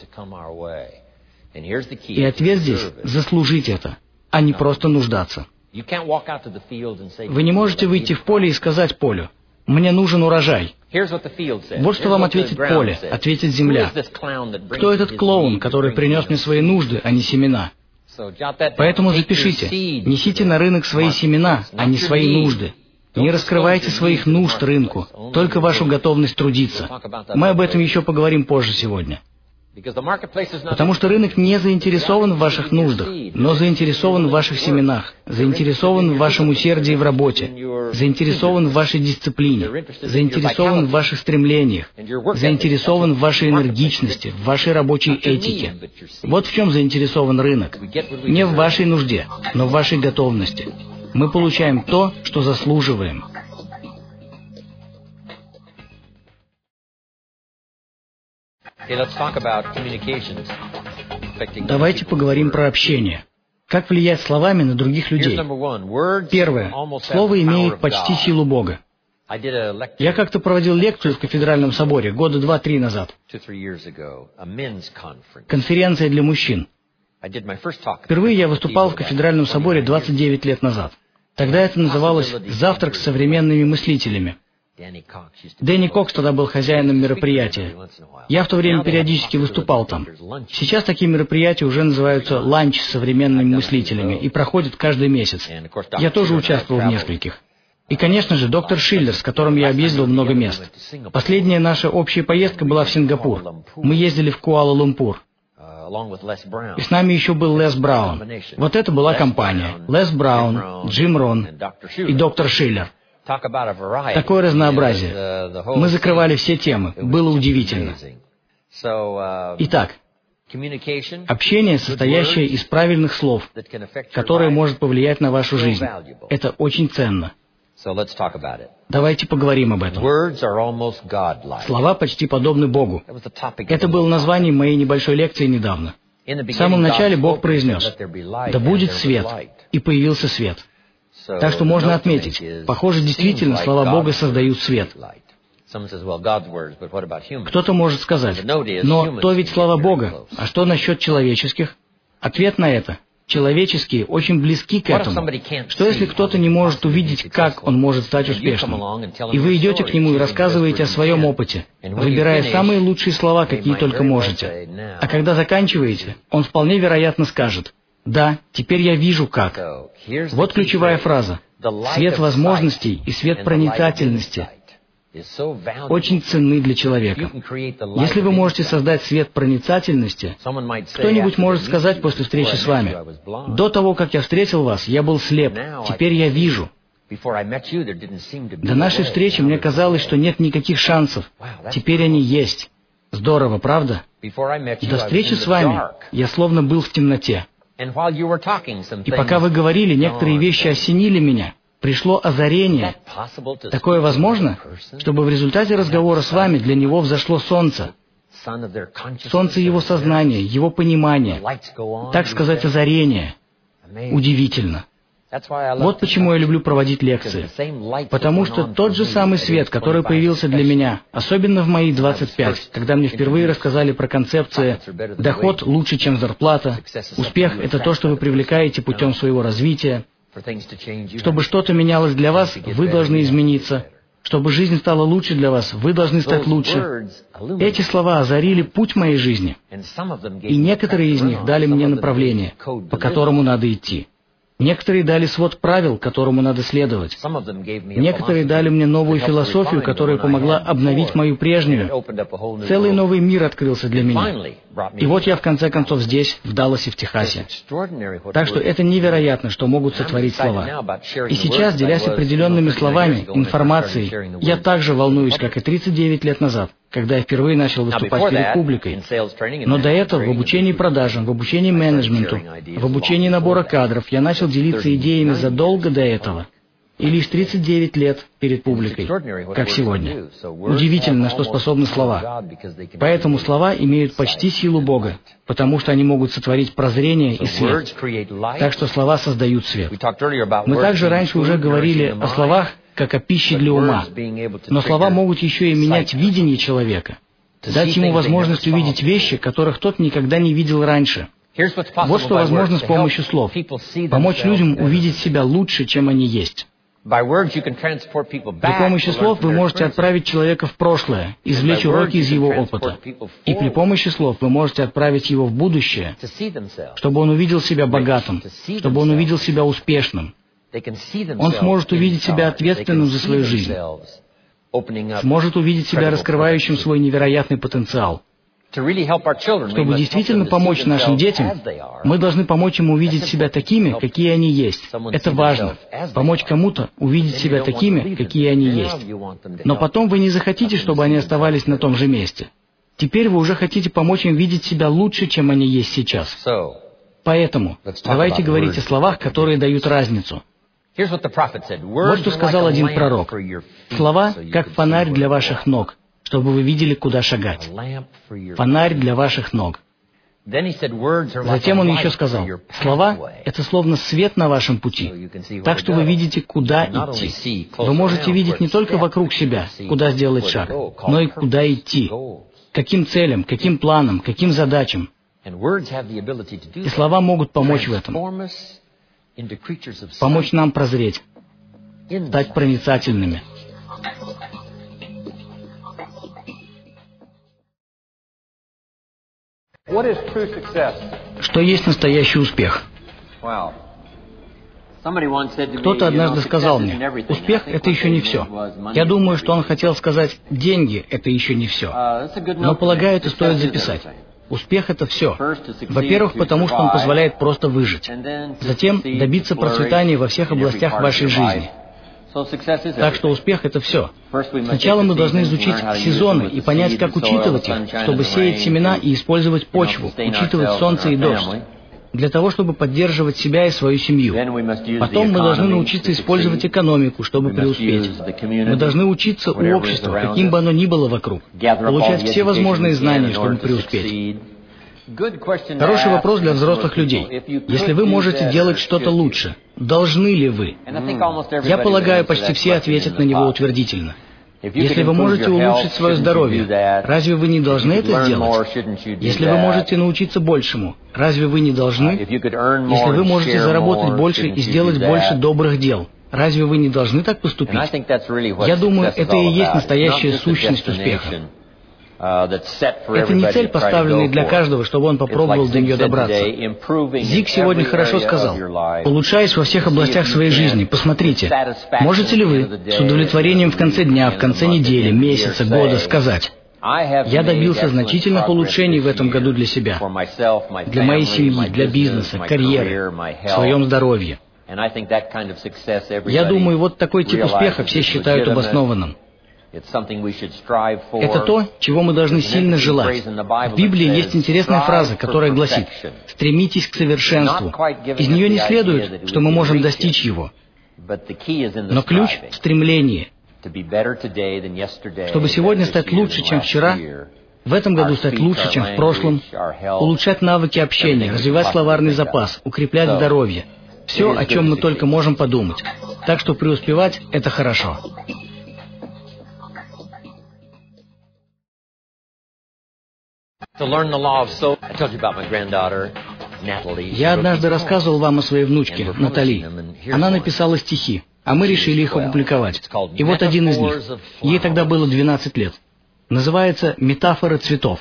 И ответ здесь — заслужить это, а не просто нуждаться. Вы не можете выйти в поле и сказать полю: «Мне нужен урожай». Вот что вам ответит поле, ответит земля. Кто этот клоун, который принес мне свои нужды, а не семена? Поэтому запишите: несите на рынок свои семена, а не свои нужды. Не раскрывайте своих нужд рынку, только вашу готовность трудиться. Мы об этом еще поговорим позже сегодня. Потому что рынок не заинтересован в ваших нуждах, но заинтересован в ваших семенах, заинтересован в вашем усердии в работе, заинтересован в вашей дисциплине, заинтересован в ваших стремлениях, заинтересован в вашей энергичности, в вашей рабочей этике. Вот в чем заинтересован рынок. Не в вашей нужде, но в вашей готовности. Мы получаем то, что заслуживаем. Давайте поговорим про общение. Как влиять словами на других людей? Первое. Слово имеет почти силу Бога. Я как-то проводил лекцию в кафедральном соборе года 2-3 назад. Конференция для мужчин. Впервые я выступал в кафедральном соборе 29 лет назад. Тогда это называлось «Завтрак с современными мыслителями». Дэнни Кокс тогда был хозяином мероприятия. Я в то время периодически выступал там. Сейчас такие мероприятия уже называются «Ланч с современными мыслителями» и проходят каждый месяц. Я тоже участвовал в нескольких. И, конечно же, доктор Шиллер, с которым я объездил много мест. Последняя наша общая поездка была в Сингапур. Мы ездили в Куала-Лумпур. И с нами еще был Лес Браун. Вот это была компания. Лес Браун, Джим Рон и доктор Шиллер. Такое разнообразие. Мы закрывали все темы. Было удивительно. Итак, общение, состоящее из правильных слов, которое может повлиять на вашу жизнь. Это очень ценно. Давайте поговорим об этом. Слова почти подобны Богу. Это было названием моей небольшой лекции недавно. В самом начале Бог произнес: «Да будет свет», и появился свет. Так что можно отметить, похоже, действительно, слова Бога создают свет. Кто-то может сказать: «Но то ведь слова Бога, а что насчет человеческих?» Ответ на это: человеческие очень близки к этому. Что если кто-то не может увидеть, как он может стать успешным? И вы идете к нему и рассказываете о своем опыте, выбирая самые лучшие слова, какие только можете. А когда заканчиваете, он вполне вероятно скажет: «Да, теперь я вижу как». Вот ключевая фраза. Свет возможностей и свет проницательности. очень ценны для человека. Если вы можете создать свет проницательности, кто-нибудь может сказать после встречи с вами: «До того, как я встретил вас, я был слеп, теперь я вижу». До нашей встречи мне казалось, что нет никаких шансов. Теперь они есть. Здорово, правда? До встречи с вами я словно был в темноте. И пока вы говорили, некоторые вещи осенили меня. Пришло озарение. Такое возможно, чтобы в результате разговора с вами для него взошло солнце. Солнце его сознания, его понимания. Так сказать, озарение. Удивительно. Вот почему я люблю проводить лекции. Потому что тот же самый свет, который появился для меня, особенно в мои 25, когда мне впервые рассказали про концепции «доход лучше, чем зарплата», «успех — это то, что вы привлекаете путем своего развития», «чтобы что-то менялось для вас, вы должны измениться», «чтобы жизнь стала лучше для вас, вы должны стать лучше». Эти слова озарили путь моей жизни, и некоторые из них дали мне направление, по которому надо идти. Некоторые дали свод правил, которому надо следовать. Некоторые дали мне новую философию, которая помогла обновить мою прежнюю. Целый новый мир открылся для меня. И вот я в конце концов здесь, в Далласе, в Техасе. Так что это невероятно, что могут сотворить слова. И сейчас, делясь определенными словами, информацией, я также волнуюсь, как и 39 лет назад, когда я впервые начал выступать перед публикой. Но до этого в обучении продажам, в обучении менеджменту, в обучении набора кадров я начал делиться идеями задолго до этого. И лишь 39 лет перед публикой, как сегодня. Удивительно, на что способны слова. Поэтому слова имеют почти силу Бога, потому что они могут сотворить прозрение и свет. Так что слова создают свет. Мы также раньше уже говорили о словах, как о пище для ума. Но слова могут еще и менять видение человека, дать ему возможность увидеть вещи, которых тот никогда не видел раньше. Вот что возможно с помощью слов. Помочь людям увидеть себя лучше, чем они есть. При помощи слов вы можете отправить человека в прошлое, извлечь уроки из его опыта. И при помощи слов вы можете отправить его в будущее, чтобы он увидел себя богатым, чтобы он увидел себя успешным. Он сможет увидеть себя ответственным за свою жизнь, сможет увидеть себя раскрывающим свой невероятный потенциал. Чтобы действительно помочь нашим детям, мы должны помочь им увидеть себя такими, какие они есть. Это важно. Помочь кому-то увидеть себя такими, какие они есть. Но потом вы не захотите, чтобы они оставались на том же месте. Теперь вы уже хотите помочь им видеть себя лучше, чем они есть сейчас. Поэтому давайте говорить о словах, которые дают разницу. Вот что сказал один пророк. Слова, как фонарь для ваших ног, чтобы вы видели, куда шагать. Фонарь для ваших ног. Затем он еще сказал, слова — это словно свет на вашем пути, так что вы видите, куда идти. Вы можете видеть не только вокруг себя, куда сделать шаг, но и куда идти, каким целям, каким планам, каким задачам. И слова могут помочь в этом, помочь нам прозреть, стать проницательными. Что есть настоящий успех? Кто-то однажды сказал мне, успех — это еще не все. Я думаю, что он хотел сказать, деньги — это еще не все. Но, полагаю, это стоит записать. Успех — это все. Во-первых, потому что он позволяет просто выжить. Затем добиться процветания во всех областях вашей жизни. Так что успех — это все. Сначала мы должны изучить сезоны и понять, как учитывать их, чтобы сеять семена и использовать почву, учитывать солнце и дождь, для того, чтобы поддерживать себя и свою семью. Потом мы должны научиться использовать экономику, чтобы преуспеть. Мы должны учиться у общества, каким бы оно ни было вокруг, получать все возможные знания, чтобы преуспеть. Хороший вопрос для взрослых людей. Если вы можете делать что-то лучше, должны ли вы? Я полагаю, почти все ответят на него утвердительно. Если вы можете улучшить свое здоровье, разве вы не должны это сделать? Если вы можете научиться большему, разве вы не должны? Если вы можете заработать больше и сделать больше добрых дел, разве вы не должны так поступить? Я думаю, это и есть настоящая сущность успеха. Это не цель, поставленная для каждого, чтобы он попробовал до нее добраться. Зиг сегодня хорошо сказал: улучшаясь во всех областях своей жизни, посмотрите, можете ли вы с удовлетворением в конце дня, в конце недели, месяца, года сказать: я добился значительных улучшений в этом году для себя, для моей семьи, для бизнеса, карьеры, в своем здоровье. Я думаю, вот такой тип успеха все считают обоснованным. Это то, чего мы должны сильно желать. В Библии есть интересная фраза, которая гласит: «Стремитесь к совершенству». Из нее не следует, что мы можем достичь его. Но ключ в стремлении. Чтобы сегодня стать лучше, чем вчера, в этом году стать лучше, чем в прошлом, улучшать навыки общения, развивать словарный запас, укреплять здоровье. Все, о чем мы только можем подумать. Так что преуспевать — это хорошо. Я однажды рассказывал вам о своей внучке, Натали. Она написала стихи, а мы решили их опубликовать. И вот один из них. Ей тогда было 12 лет. Называется «Метафоры цветов».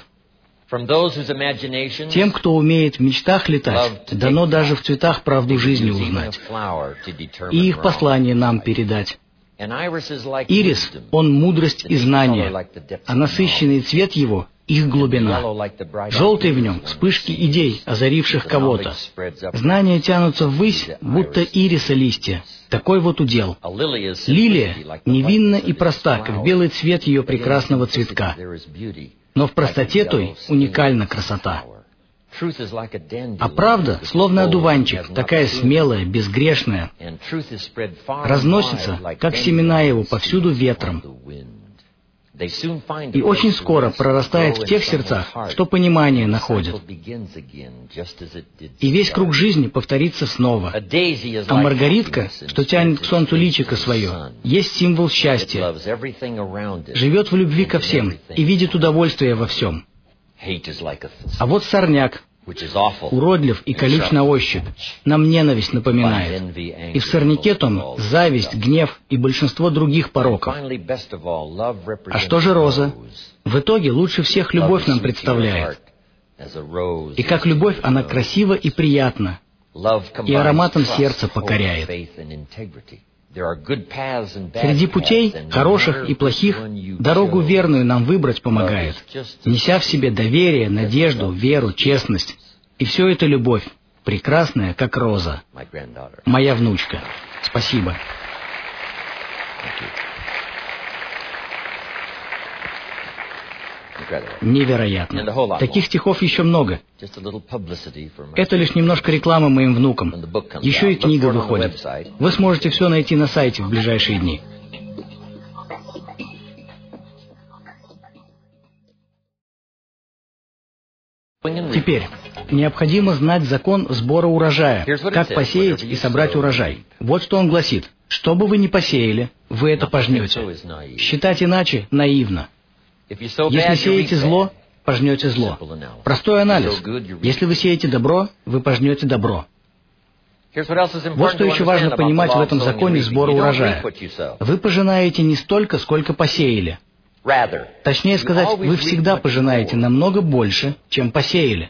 Тем, кто умеет в мечтах летать, дано даже в цветах правду жизни узнать и их послание нам передать. Ирис, он мудрость и знание, а насыщенный цвет его — их глубина. Желтый в нем — вспышки идей, озаривших кого-то. Знания тянутся ввысь, будто ириса листья. Такой вот удел. Лилия невинна и проста, как белый цвет ее прекрасного цветка. Но в простоте той уникальна красота. А правда, словно одуванчик, такая смелая, безгрешная, разносится, как семена его, повсюду ветром. И очень скоро прорастает в тех сердцах, что понимание находит. И весь круг жизни повторится снова. А маргаритка, что тянет к солнцу личико свое, есть символ счастья. Живет в любви ко всем и видит удовольствие во всем. А вот сорняк, уродлив и колюч на ощупь, нам ненависть напоминает. И в сорняке том зависть, гнев и большинство других пороков. А что же роза? В итоге лучше всех любовь нам представляет. И как любовь она красива и приятна, и ароматом сердца покоряет. Среди путей, хороших и плохих, дорогу верную нам выбрать помогает, неся в себе доверие, надежду, веру, честность. И все это любовь, прекрасная, как роза. Моя внучка. Спасибо. Невероятно. Таких стихов еще много. Это лишь немножко рекламы моим внукам. Еще и книга выходит. Вы сможете все найти на сайте в ближайшие дни. Теперь, необходимо знать закон сбора урожая, как посеять и собрать урожай. Вот что он гласит. Что бы вы ни посеяли, вы это пожнете. Считать иначе наивно. Если сеете зло, пожнете зло. Простой анализ. Если вы сеете добро, вы пожнете добро. Вот что еще важно понимать в этом законе сбора урожая. Вы пожинаете не столько, сколько посеяли. Точнее сказать, вы всегда пожинаете намного больше, чем посеяли.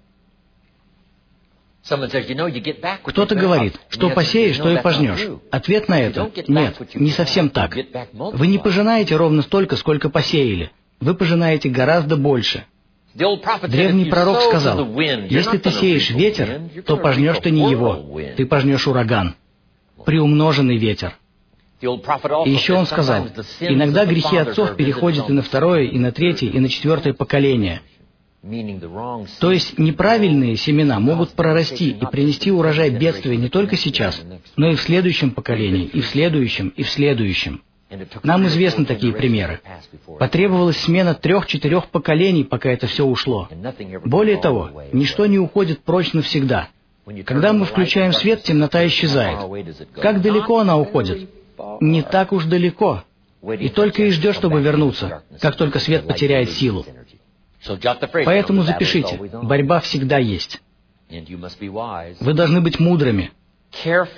Кто-то говорит, что посеешь, то и пожнешь. Ответ на это — нет, не совсем так. Вы не пожинаете ровно столько, сколько посеяли. Вы пожинаете гораздо больше. Древний пророк сказал: если ты сеешь ветер, то пожнешь ты не его, ты пожнешь ураган. Приумноженный ветер. И еще он сказал: иногда грехи отцов переходят и на второе, и на третье, и на четвертое поколение. То есть неправильные семена могут прорасти и принести урожай бедствия не только сейчас, но и в следующем поколении, и в следующем, и в следующем. Нам известны такие примеры. Потребовалась смена 3-4 поколений, пока это все ушло. Более того, ничто не уходит прочь навсегда. Когда мы включаем свет, темнота исчезает. Как далеко она уходит? Не так уж далеко. И только и ждет, чтобы вернуться, как только свет потеряет силу. Поэтому запишите, борьба всегда есть. Вы должны быть мудрыми,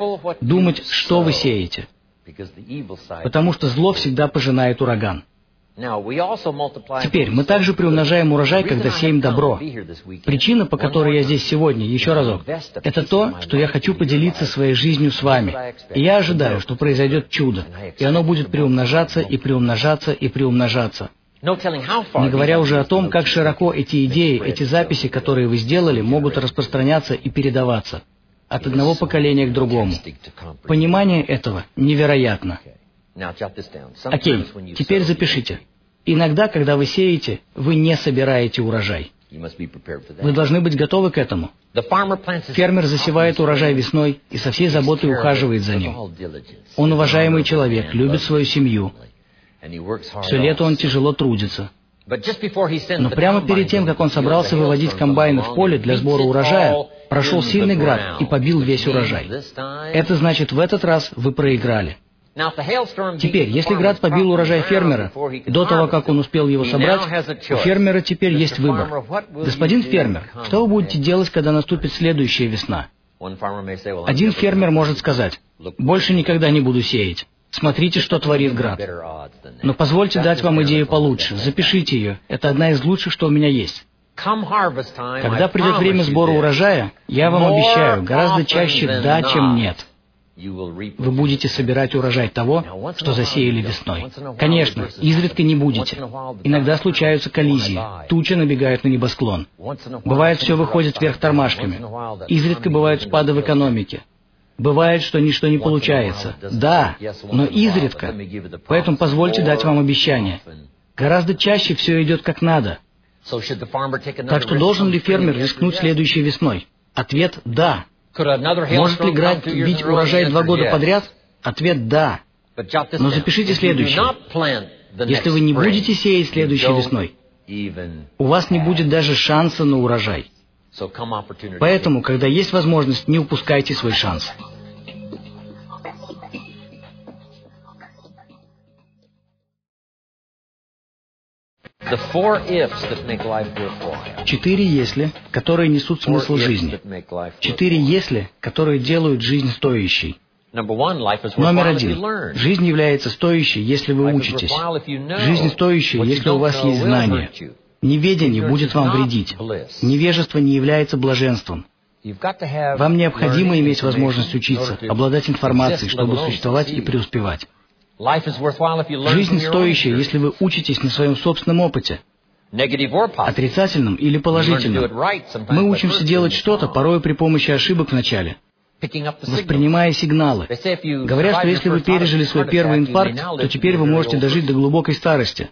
думать, что вы сеете, потому что зло всегда пожинает ураган. Теперь мы также приумножаем урожай, когда сеем добро. Причина, по которой я здесь сегодня, еще разок, это то, что я хочу поделиться своей жизнью с вами. И я ожидаю, что произойдет чудо, и оно будет приумножаться и приумножаться и приумножаться. Не говоря уже о том, как широко эти идеи, эти записи, которые вы сделали, могут распространяться и передаваться от одного поколения к другому. Понимание этого невероятно. Окей, теперь запишите. Иногда, когда вы сеете, вы не собираете урожай. Вы должны быть готовы к этому. Фермер засевает урожай весной и со всей заботой ухаживает за ним. Он уважаемый человек, любит свою семью. Все лето он тяжело трудится. Но прямо перед тем, как он собрался выводить комбайны в поле для сбора урожая, прошел сильный град и побил весь урожай. Это значит, в этот раз вы проиграли. Теперь, если град побил урожай фермера, до того, как он успел его собрать, у фермера теперь есть выбор. Господин фермер, что вы будете делать, когда наступит следующая весна? Один фермер может сказать: «Больше никогда не буду сеять. Смотрите, что творит град». Но позвольте дать вам идею получше. Запишите ее. Это одна из лучших, что у меня есть. Когда придет время сбора урожая, я вам обещаю, гораздо чаще «да», чем «нет». Вы будете собирать урожай того, что засеяли весной. Конечно, изредка не будете. Иногда случаются коллизии, тучи набегают на небосклон. Бывает, все выходит вверх тормашками. Изредка бывают спады в экономике. Бывает, что ничто не получается. Да, но изредка. Поэтому позвольте дать вам обещание. Гораздо чаще все идет как надо. Так что должен ли фермер рискнуть следующей весной? Ответ – да. Может ли град бить урожай 2 года подряд? Ответ – да. Но запишите следующее. Если вы не будете сеять следующей весной, у вас не будет даже шанса на урожай. Поэтому, когда есть возможность, не упускайте свой шанс. Четыре «если», которые несут смысл жизни. 4 «если», которые делают жизнь стоящей. Номер 1. Жизнь является стоящей, если вы учитесь. Жизнь стоящая, если у вас есть знания. Неведение будет вам вредить. Невежество не является блаженством. Вам необходимо иметь возможность учиться, обладать информацией, чтобы существовать и преуспевать. Жизнь стоящая, если вы учитесь на своем собственном опыте, отрицательном или положительном. Мы учимся делать что-то, порой при помощи ошибок в начале, воспринимая сигналы. Говорят, что если вы пережили свой первый инфаркт, то теперь вы можете дожить до глубокой старости.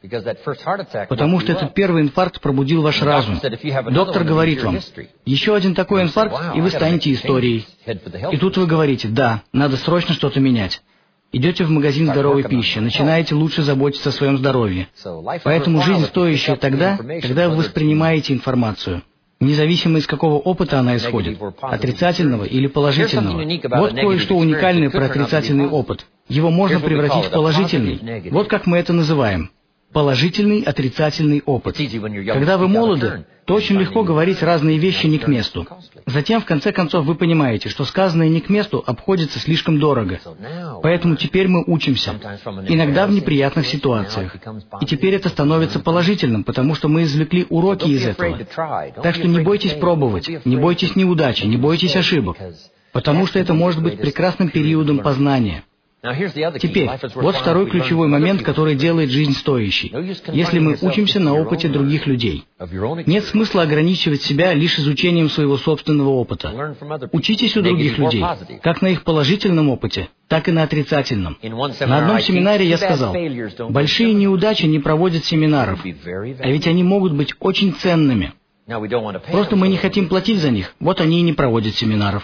Потому что этот первый инфаркт пробудил ваш разум. Доктор говорит вам: еще один такой инфаркт, и вы станете историей. И тут вы говорите: да, надо срочно что-то менять. Идете в магазин здоровой пищи, начинаете лучше заботиться о своем здоровье. Поэтому жизнь стоящая тогда, когда вы воспринимаете информацию, независимо из какого опыта она исходит, отрицательного или положительного. Вот кое-что уникальное про отрицательный опыт. Его можно превратить в положительный. Вот как мы это называем. Положительный, отрицательный опыт. Когда вы молоды, то очень легко говорить разные вещи не к месту. Затем, в конце концов, вы понимаете, что сказанное не к месту обходится слишком дорого. Поэтому теперь мы учимся. Иногда в неприятных ситуациях. И теперь это становится положительным, потому что мы извлекли уроки из этого. Так что не бойтесь пробовать, не бойтесь неудачи, не бойтесь ошибок. Потому что это может быть прекрасным периодом познания. Теперь, вот второй ключевой момент, который делает жизнь стоящей. Если мы учимся на опыте других людей. Нет смысла ограничивать себя лишь изучением своего собственного опыта. Учитесь у других людей, как на их положительном опыте, так и на отрицательном. На одном семинаре я сказал: большие неудачи не проводят семинаров, а ведь они могут быть очень ценными. Просто мы не хотим платить за них, вот они и не проводят семинаров.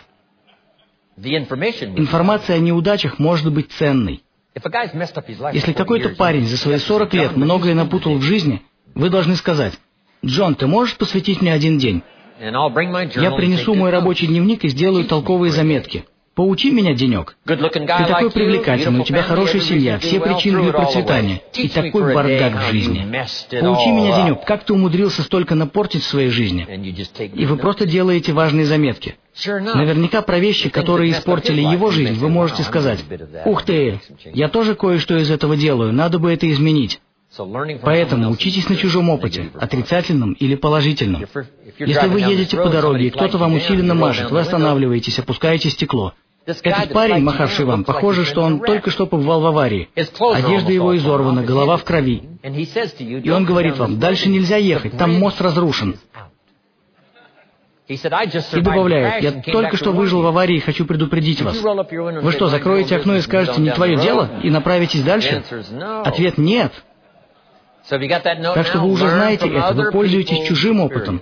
Информация о неудачах может быть ценной. Если какой-то парень за свои 40 лет многое напутал в жизни, вы должны сказать: «Джон, ты можешь посвятить мне 1 день? Я принесу мой рабочий дневник и сделаю толковые заметки. Поучи меня денек. Ты такой привлекательный, у тебя хорошая семья, все причины для процветания, и такой бардак в жизни. Поучи меня денек, как ты умудрился столько напортить в своей жизни?» И вы просто делаете важные заметки. Наверняка про вещи, которые испортили его жизнь, вы можете сказать: «Ух ты, я тоже кое-что из этого делаю, надо бы это изменить». Поэтому учитесь на чужом опыте, отрицательном или положительном. Если вы едете по дороге, и кто-то вам усиленно мажет, вы останавливаетесь, опускаете стекло. Этот парень, махавший вам, похоже, что он только что побывал в аварии. Одежда его изорвана, голова в крови. И он говорит вам: дальше нельзя ехать, там мост разрушен. И добавляет: я только что выжил в аварии и хочу предупредить вас. Вы что, закроете окно и скажете: не твое дело, и направитесь дальше? Ответ: нет. Так что вы уже знаете это, вы пользуетесь чужим опытом.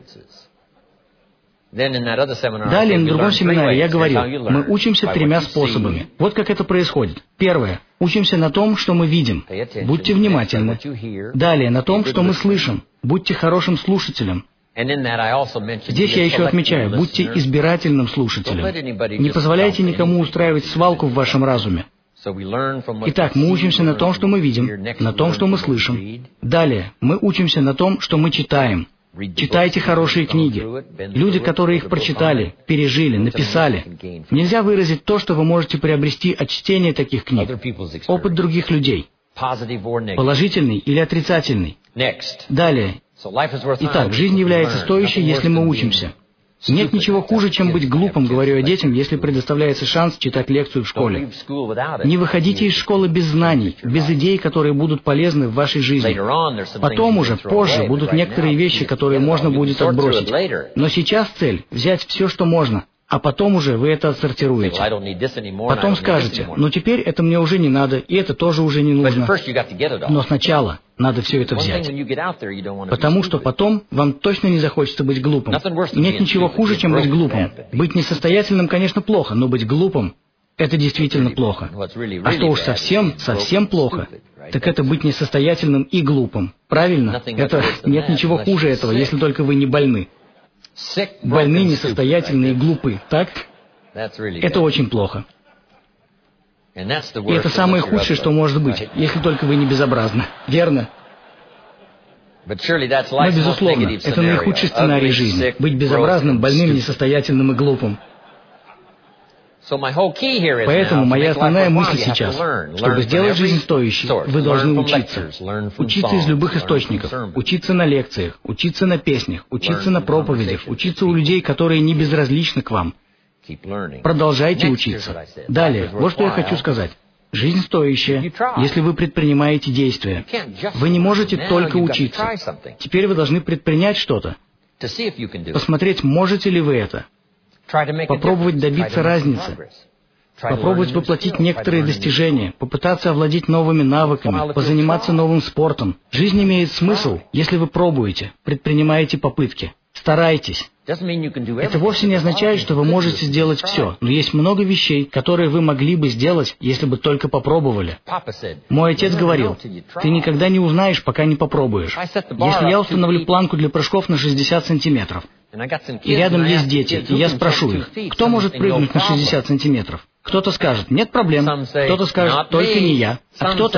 Далее, на другом семинаре я говорил, мы учимся 3 способами. Вот как это происходит. Первое. Учимся на том, что мы видим. Будьте внимательны. Далее, на том, что мы слышим. Будьте хорошим слушателем. Здесь я еще отмечаю, будьте избирательным слушателем. Не позволяйте никому устраивать свалку в вашем разуме. Итак, мы учимся на том, что мы видим, на том, что мы слышим. Далее, мы учимся на том, что мы читаем. Читайте хорошие книги. Люди, которые их прочитали, пережили, написали. Нельзя выразить то, что вы можете приобрести от чтения таких книг. Опыт других людей. Положительный или отрицательный. Далее. Итак, жизнь является стоящей, если мы учимся. Нет ничего хуже, чем быть глупым, говорю я детям, если предоставляется шанс читать лекцию в школе. Не выходите из школы без знаний, без идей, которые будут полезны в вашей жизни. Потом уже, позже, будут некоторые вещи, которые можно будет отбросить. Но сейчас цель — взять все, что можно, а потом уже вы это отсортируете. Потом скажете: ну теперь это мне уже не надо, и это тоже уже не нужно. Но сначала надо все это взять. Потому что потом вам точно не захочется быть глупым. Нет ничего хуже, чем быть глупым. Быть несостоятельным, конечно, плохо, но быть глупым — это действительно плохо. А что уж совсем плохо, так это быть несостоятельным и глупым. Правильно? Нет ничего хуже этого, если только вы не больны. Больны, несостоятельные и глупы, так? Это очень плохо. И это самое худшее, что может быть, если только вы не безобразны. Верно? Но, безусловно, это наихудший сценарий жизни. Быть безобразным, больным, несостоятельным и глупым. Поэтому моя основная мысль сейчас: чтобы сделать жизнь стоящей, вы должны учиться. Учиться из любых источников. Учиться на лекциях, учиться на песнях, учиться на проповедях, учиться у людей, которые не безразличны к вам. Продолжайте учиться. Далее, вот что я хочу сказать. Жизнь стоящая, если вы предпринимаете действия. Вы не можете только учиться. Теперь вы должны предпринять что-то. Посмотреть, можете ли вы это. Попробовать добиться разницы. Попробовать воплотить некоторые достижения, попытаться овладеть новыми навыками, позаниматься новым спортом. Жизнь имеет смысл, если вы пробуете, предпринимаете попытки. Старайтесь. Это вовсе не означает, что вы можете сделать все, но есть много вещей, которые вы могли бы сделать, если бы только попробовали. Мой отец говорил: ты никогда не узнаешь, пока не попробуешь. Если я установлю планку для прыжков на 60 сантиметров, и рядом есть дети, и я спрошу их: кто может прыгнуть на 60 сантиметров? Кто-то скажет: нет проблем. Кто-то скажет: только не я. А кто-то: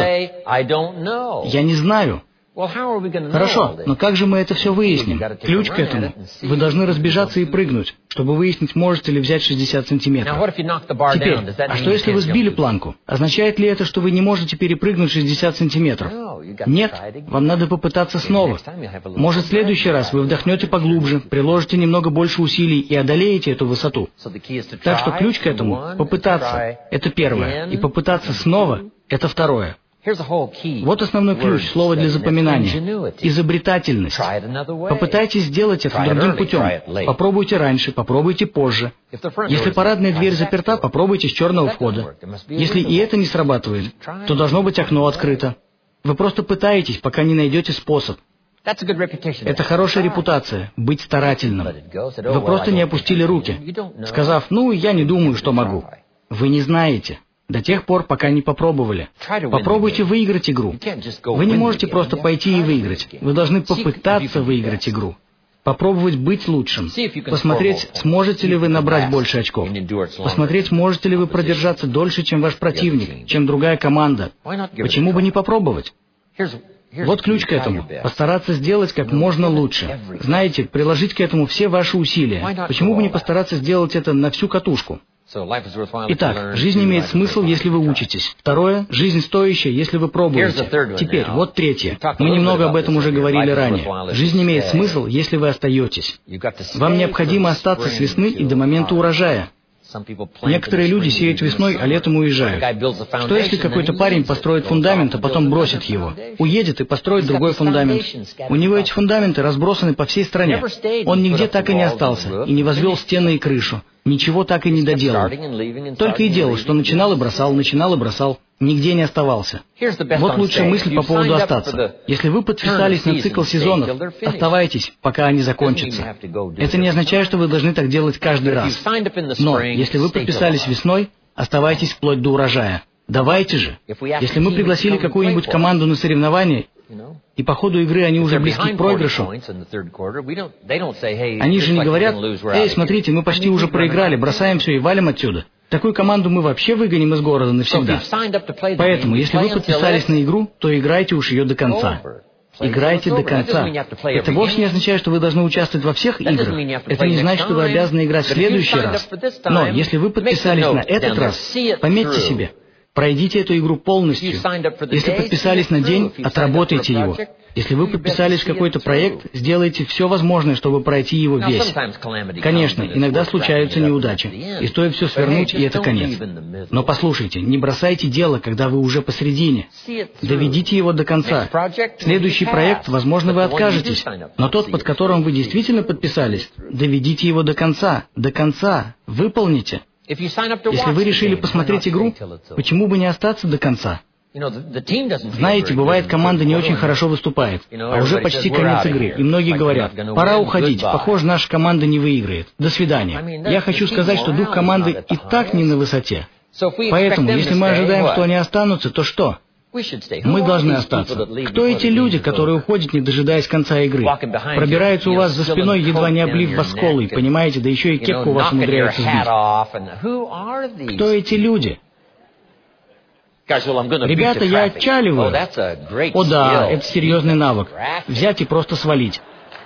я не знаю. Хорошо, но как же мы это все выясним? Ключ к этому: вы должны разбежаться и прыгнуть, чтобы выяснить, можете ли взять 60 сантиметров. Теперь, а что если вы сбили планку? Означает ли это, что вы не можете перепрыгнуть 60 сантиметров? Нет, вам надо попытаться снова. Может, в следующий раз вы вдохнете поглубже, приложите немного больше усилий и одолеете эту высоту. Так что ключ к этому — попытаться. Это первое. И попытаться снова — это второе. Вот основной ключ, слово для запоминания. Изобретательность. Попытайтесь сделать это другим путем. Попробуйте раньше, попробуйте позже. Если парадная дверь заперта, попробуйте с черного входа. Если и это не срабатывает, то должно быть окно открыто. Вы просто пытаетесь, пока не найдете способ. Это хорошая репутация, быть старательным. Вы просто не опустили руки, сказав: ну, я не думаю, что могу. Вы не знаете. До тех пор, пока не попробовали. Попробуйте выиграть игру. Вы не можете просто пойти и выиграть. Вы должны попытаться выиграть игру. Попробовать быть лучшим. Посмотреть, сможете ли вы набрать больше очков. Посмотреть, можете ли вы продержаться дольше, чем ваш противник, чем другая команда. Почему бы не попробовать? Вот ключ к этому. Постараться сделать как можно лучше. Знаете, приложить к этому все ваши усилия. Почему бы не постараться сделать это на всю катушку? Итак, жизнь имеет смысл, если вы учитесь. Второе, жизнь стоящая, если вы пробуете. Теперь, вот третье. Мы немного об этом уже говорили ранее. Жизнь имеет смысл, если вы остаетесь. Вам необходимо остаться с весны и до момента урожая. Некоторые люди сеют весной, а летом уезжают. Что если какой-то парень построит фундамент, а потом бросит его? Уедет и построит другой фундамент. У него эти фундаменты разбросаны по всей стране. Он нигде так и не остался, и не возвел стены и крышу. Ничего так и не доделал. Только и делал, что начинал и бросал, нигде не оставался. Вот лучшая мысль по поводу остаться. Если вы подписались на цикл сезонов, оставайтесь, пока они закончатся. Это не означает, что вы должны так делать каждый раз. Но если вы подписались весной, оставайтесь вплоть до урожая. Давайте же. Если мы пригласили какую-нибудь команду на соревнования, и по ходу игры они уже близки к проигрышу, они же не говорят: «Эй, смотрите, мы почти уже проиграли, бросаем все и валим отсюда». Такую команду мы вообще выгоним из города навсегда. Поэтому, если вы подписались на игру, то играйте уж ее до конца. Играйте до конца. Это вовсе не означает, что вы должны участвовать во всех играх. Это не значит, что вы обязаны играть в следующий раз. Но если вы подписались на этот раз, пометьте себе, пройдите эту игру полностью. Если подписались на день, отработайте его. Если вы подписались в какой-то проект, сделайте все возможное, чтобы пройти его весь. Конечно, иногда случаются неудачи, и стоит все свернуть, и это конец. Но послушайте, не бросайте дело, когда вы уже посредине. Доведите его до конца. Следующий проект, возможно, вы откажетесь, но тот, под которым вы действительно подписались, доведите его до конца, выполните. Если вы решили посмотреть игру, почему бы не остаться до конца? Знаете, бывает, команда не очень хорошо выступает, а уже почти конец игры, и многие говорят: «Пора уходить, похоже, наша команда не выиграет. До свидания». Я хочу сказать, что дух команды и так не на высоте. Поэтому, если мы ожидаем, что они останутся, то что? Мы должны остаться. Кто эти люди, которые уходят, не дожидаясь конца игры? Пробираются у вас за спиной, едва не облив вас колой, понимаете, да еще и кепку у вас умудряются сбить. Кто эти люди? Ребята, я отчаливаю. О да, это серьезный навык. Взять и просто свалить.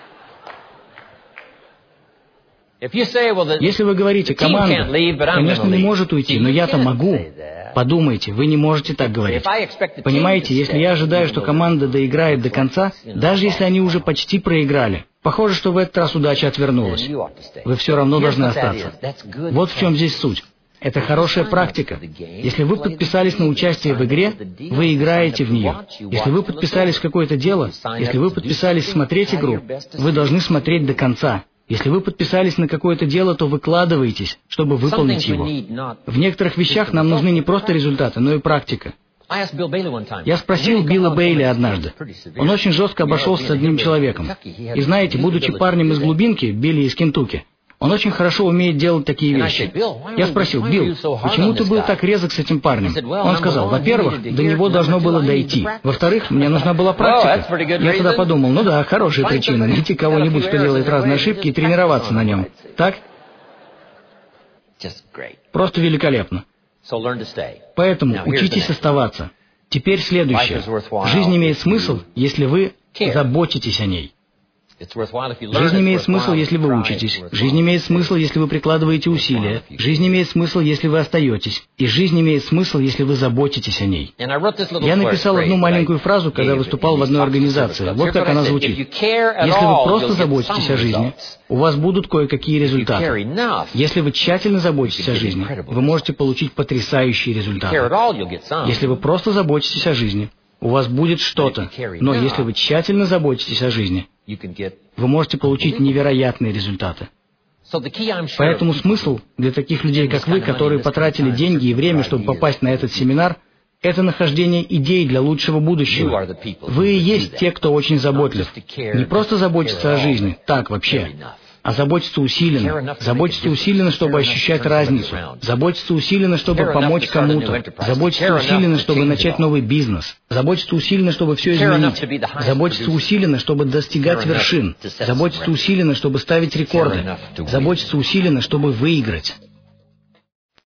Если вы говорите: «Команда, конечно, не может уйти, но я-то могу», подумайте, вы не можете так говорить. Понимаете, если я ожидаю, что команда доиграет до конца, даже если они уже почти проиграли, похоже, что в этот раз удача отвернулась. Вы все равно должны остаться. Вот в чем здесь суть. Это хорошая практика. Если вы подписались на участие в игре, вы играете в нее. Если вы подписались в какое-то дело, если вы подписались смотреть игру, вы должны смотреть до конца. Если вы подписались на какое-то дело, то выкладываетесь, чтобы выполнить его. В некоторых вещах нам нужны не просто результаты, но и практика. Я спросил Билла Бейли однажды. Он очень жестко обошелся с одним человеком. И знаете, будучи парнем из глубинки, Билли из Кентукки, он очень хорошо умеет делать такие вещи. Я спросил: «Билл, почему ты был так резок с этим парнем?» Он сказал: «Во-первых, до него должно было дойти. Во-вторых, мне нужна была практика». Я тогда подумал: ну да, хорошая причина — найти кого-нибудь, кто делает разные ошибки, и тренироваться на нем. Так? Просто великолепно. Поэтому учитесь оставаться. Теперь следующее. Жизнь имеет смысл, если вы заботитесь о ней. Жизнь имеет смысл, если вы учитесь. Жизнь имеет смысл, если вы прикладываете усилия. Жизнь имеет смысл, если вы остаетесь. И жизнь имеет смысл, если вы заботитесь о ней. Я написал одну маленькую фразу, когда выступал в одной организации. Вот как она звучит. Если вы просто заботитесь о жизни, у вас будут кое-какие результаты. Если вы тщательно заботитесь о жизни, вы можете получить потрясающие результаты. Если вы просто заботитесь о жизни, у вас будет что-то. Но если вы тщательно заботитесь о жизни, вы можете получить невероятные результаты. Поэтому смысл для таких людей, как вы, которые потратили деньги и время, чтобы попасть на этот семинар, это нахождение идей для лучшего будущего. Вы и есть те, кто очень заботлив. Не просто заботиться о жизни, так вообще, а заботиться усиленно. Заботиться усиленно, чтобы ощущать разницу. Заботиться усиленно, чтобы помочь кому-то. Заботиться усиленно, чтобы начать новый бизнес. Заботиться усиленно, чтобы все изменить. Заботиться усиленно, чтобы достигать вершин. Заботиться усиленно, чтобы ставить рекорды. Заботиться усиленно, чтобы выиграть.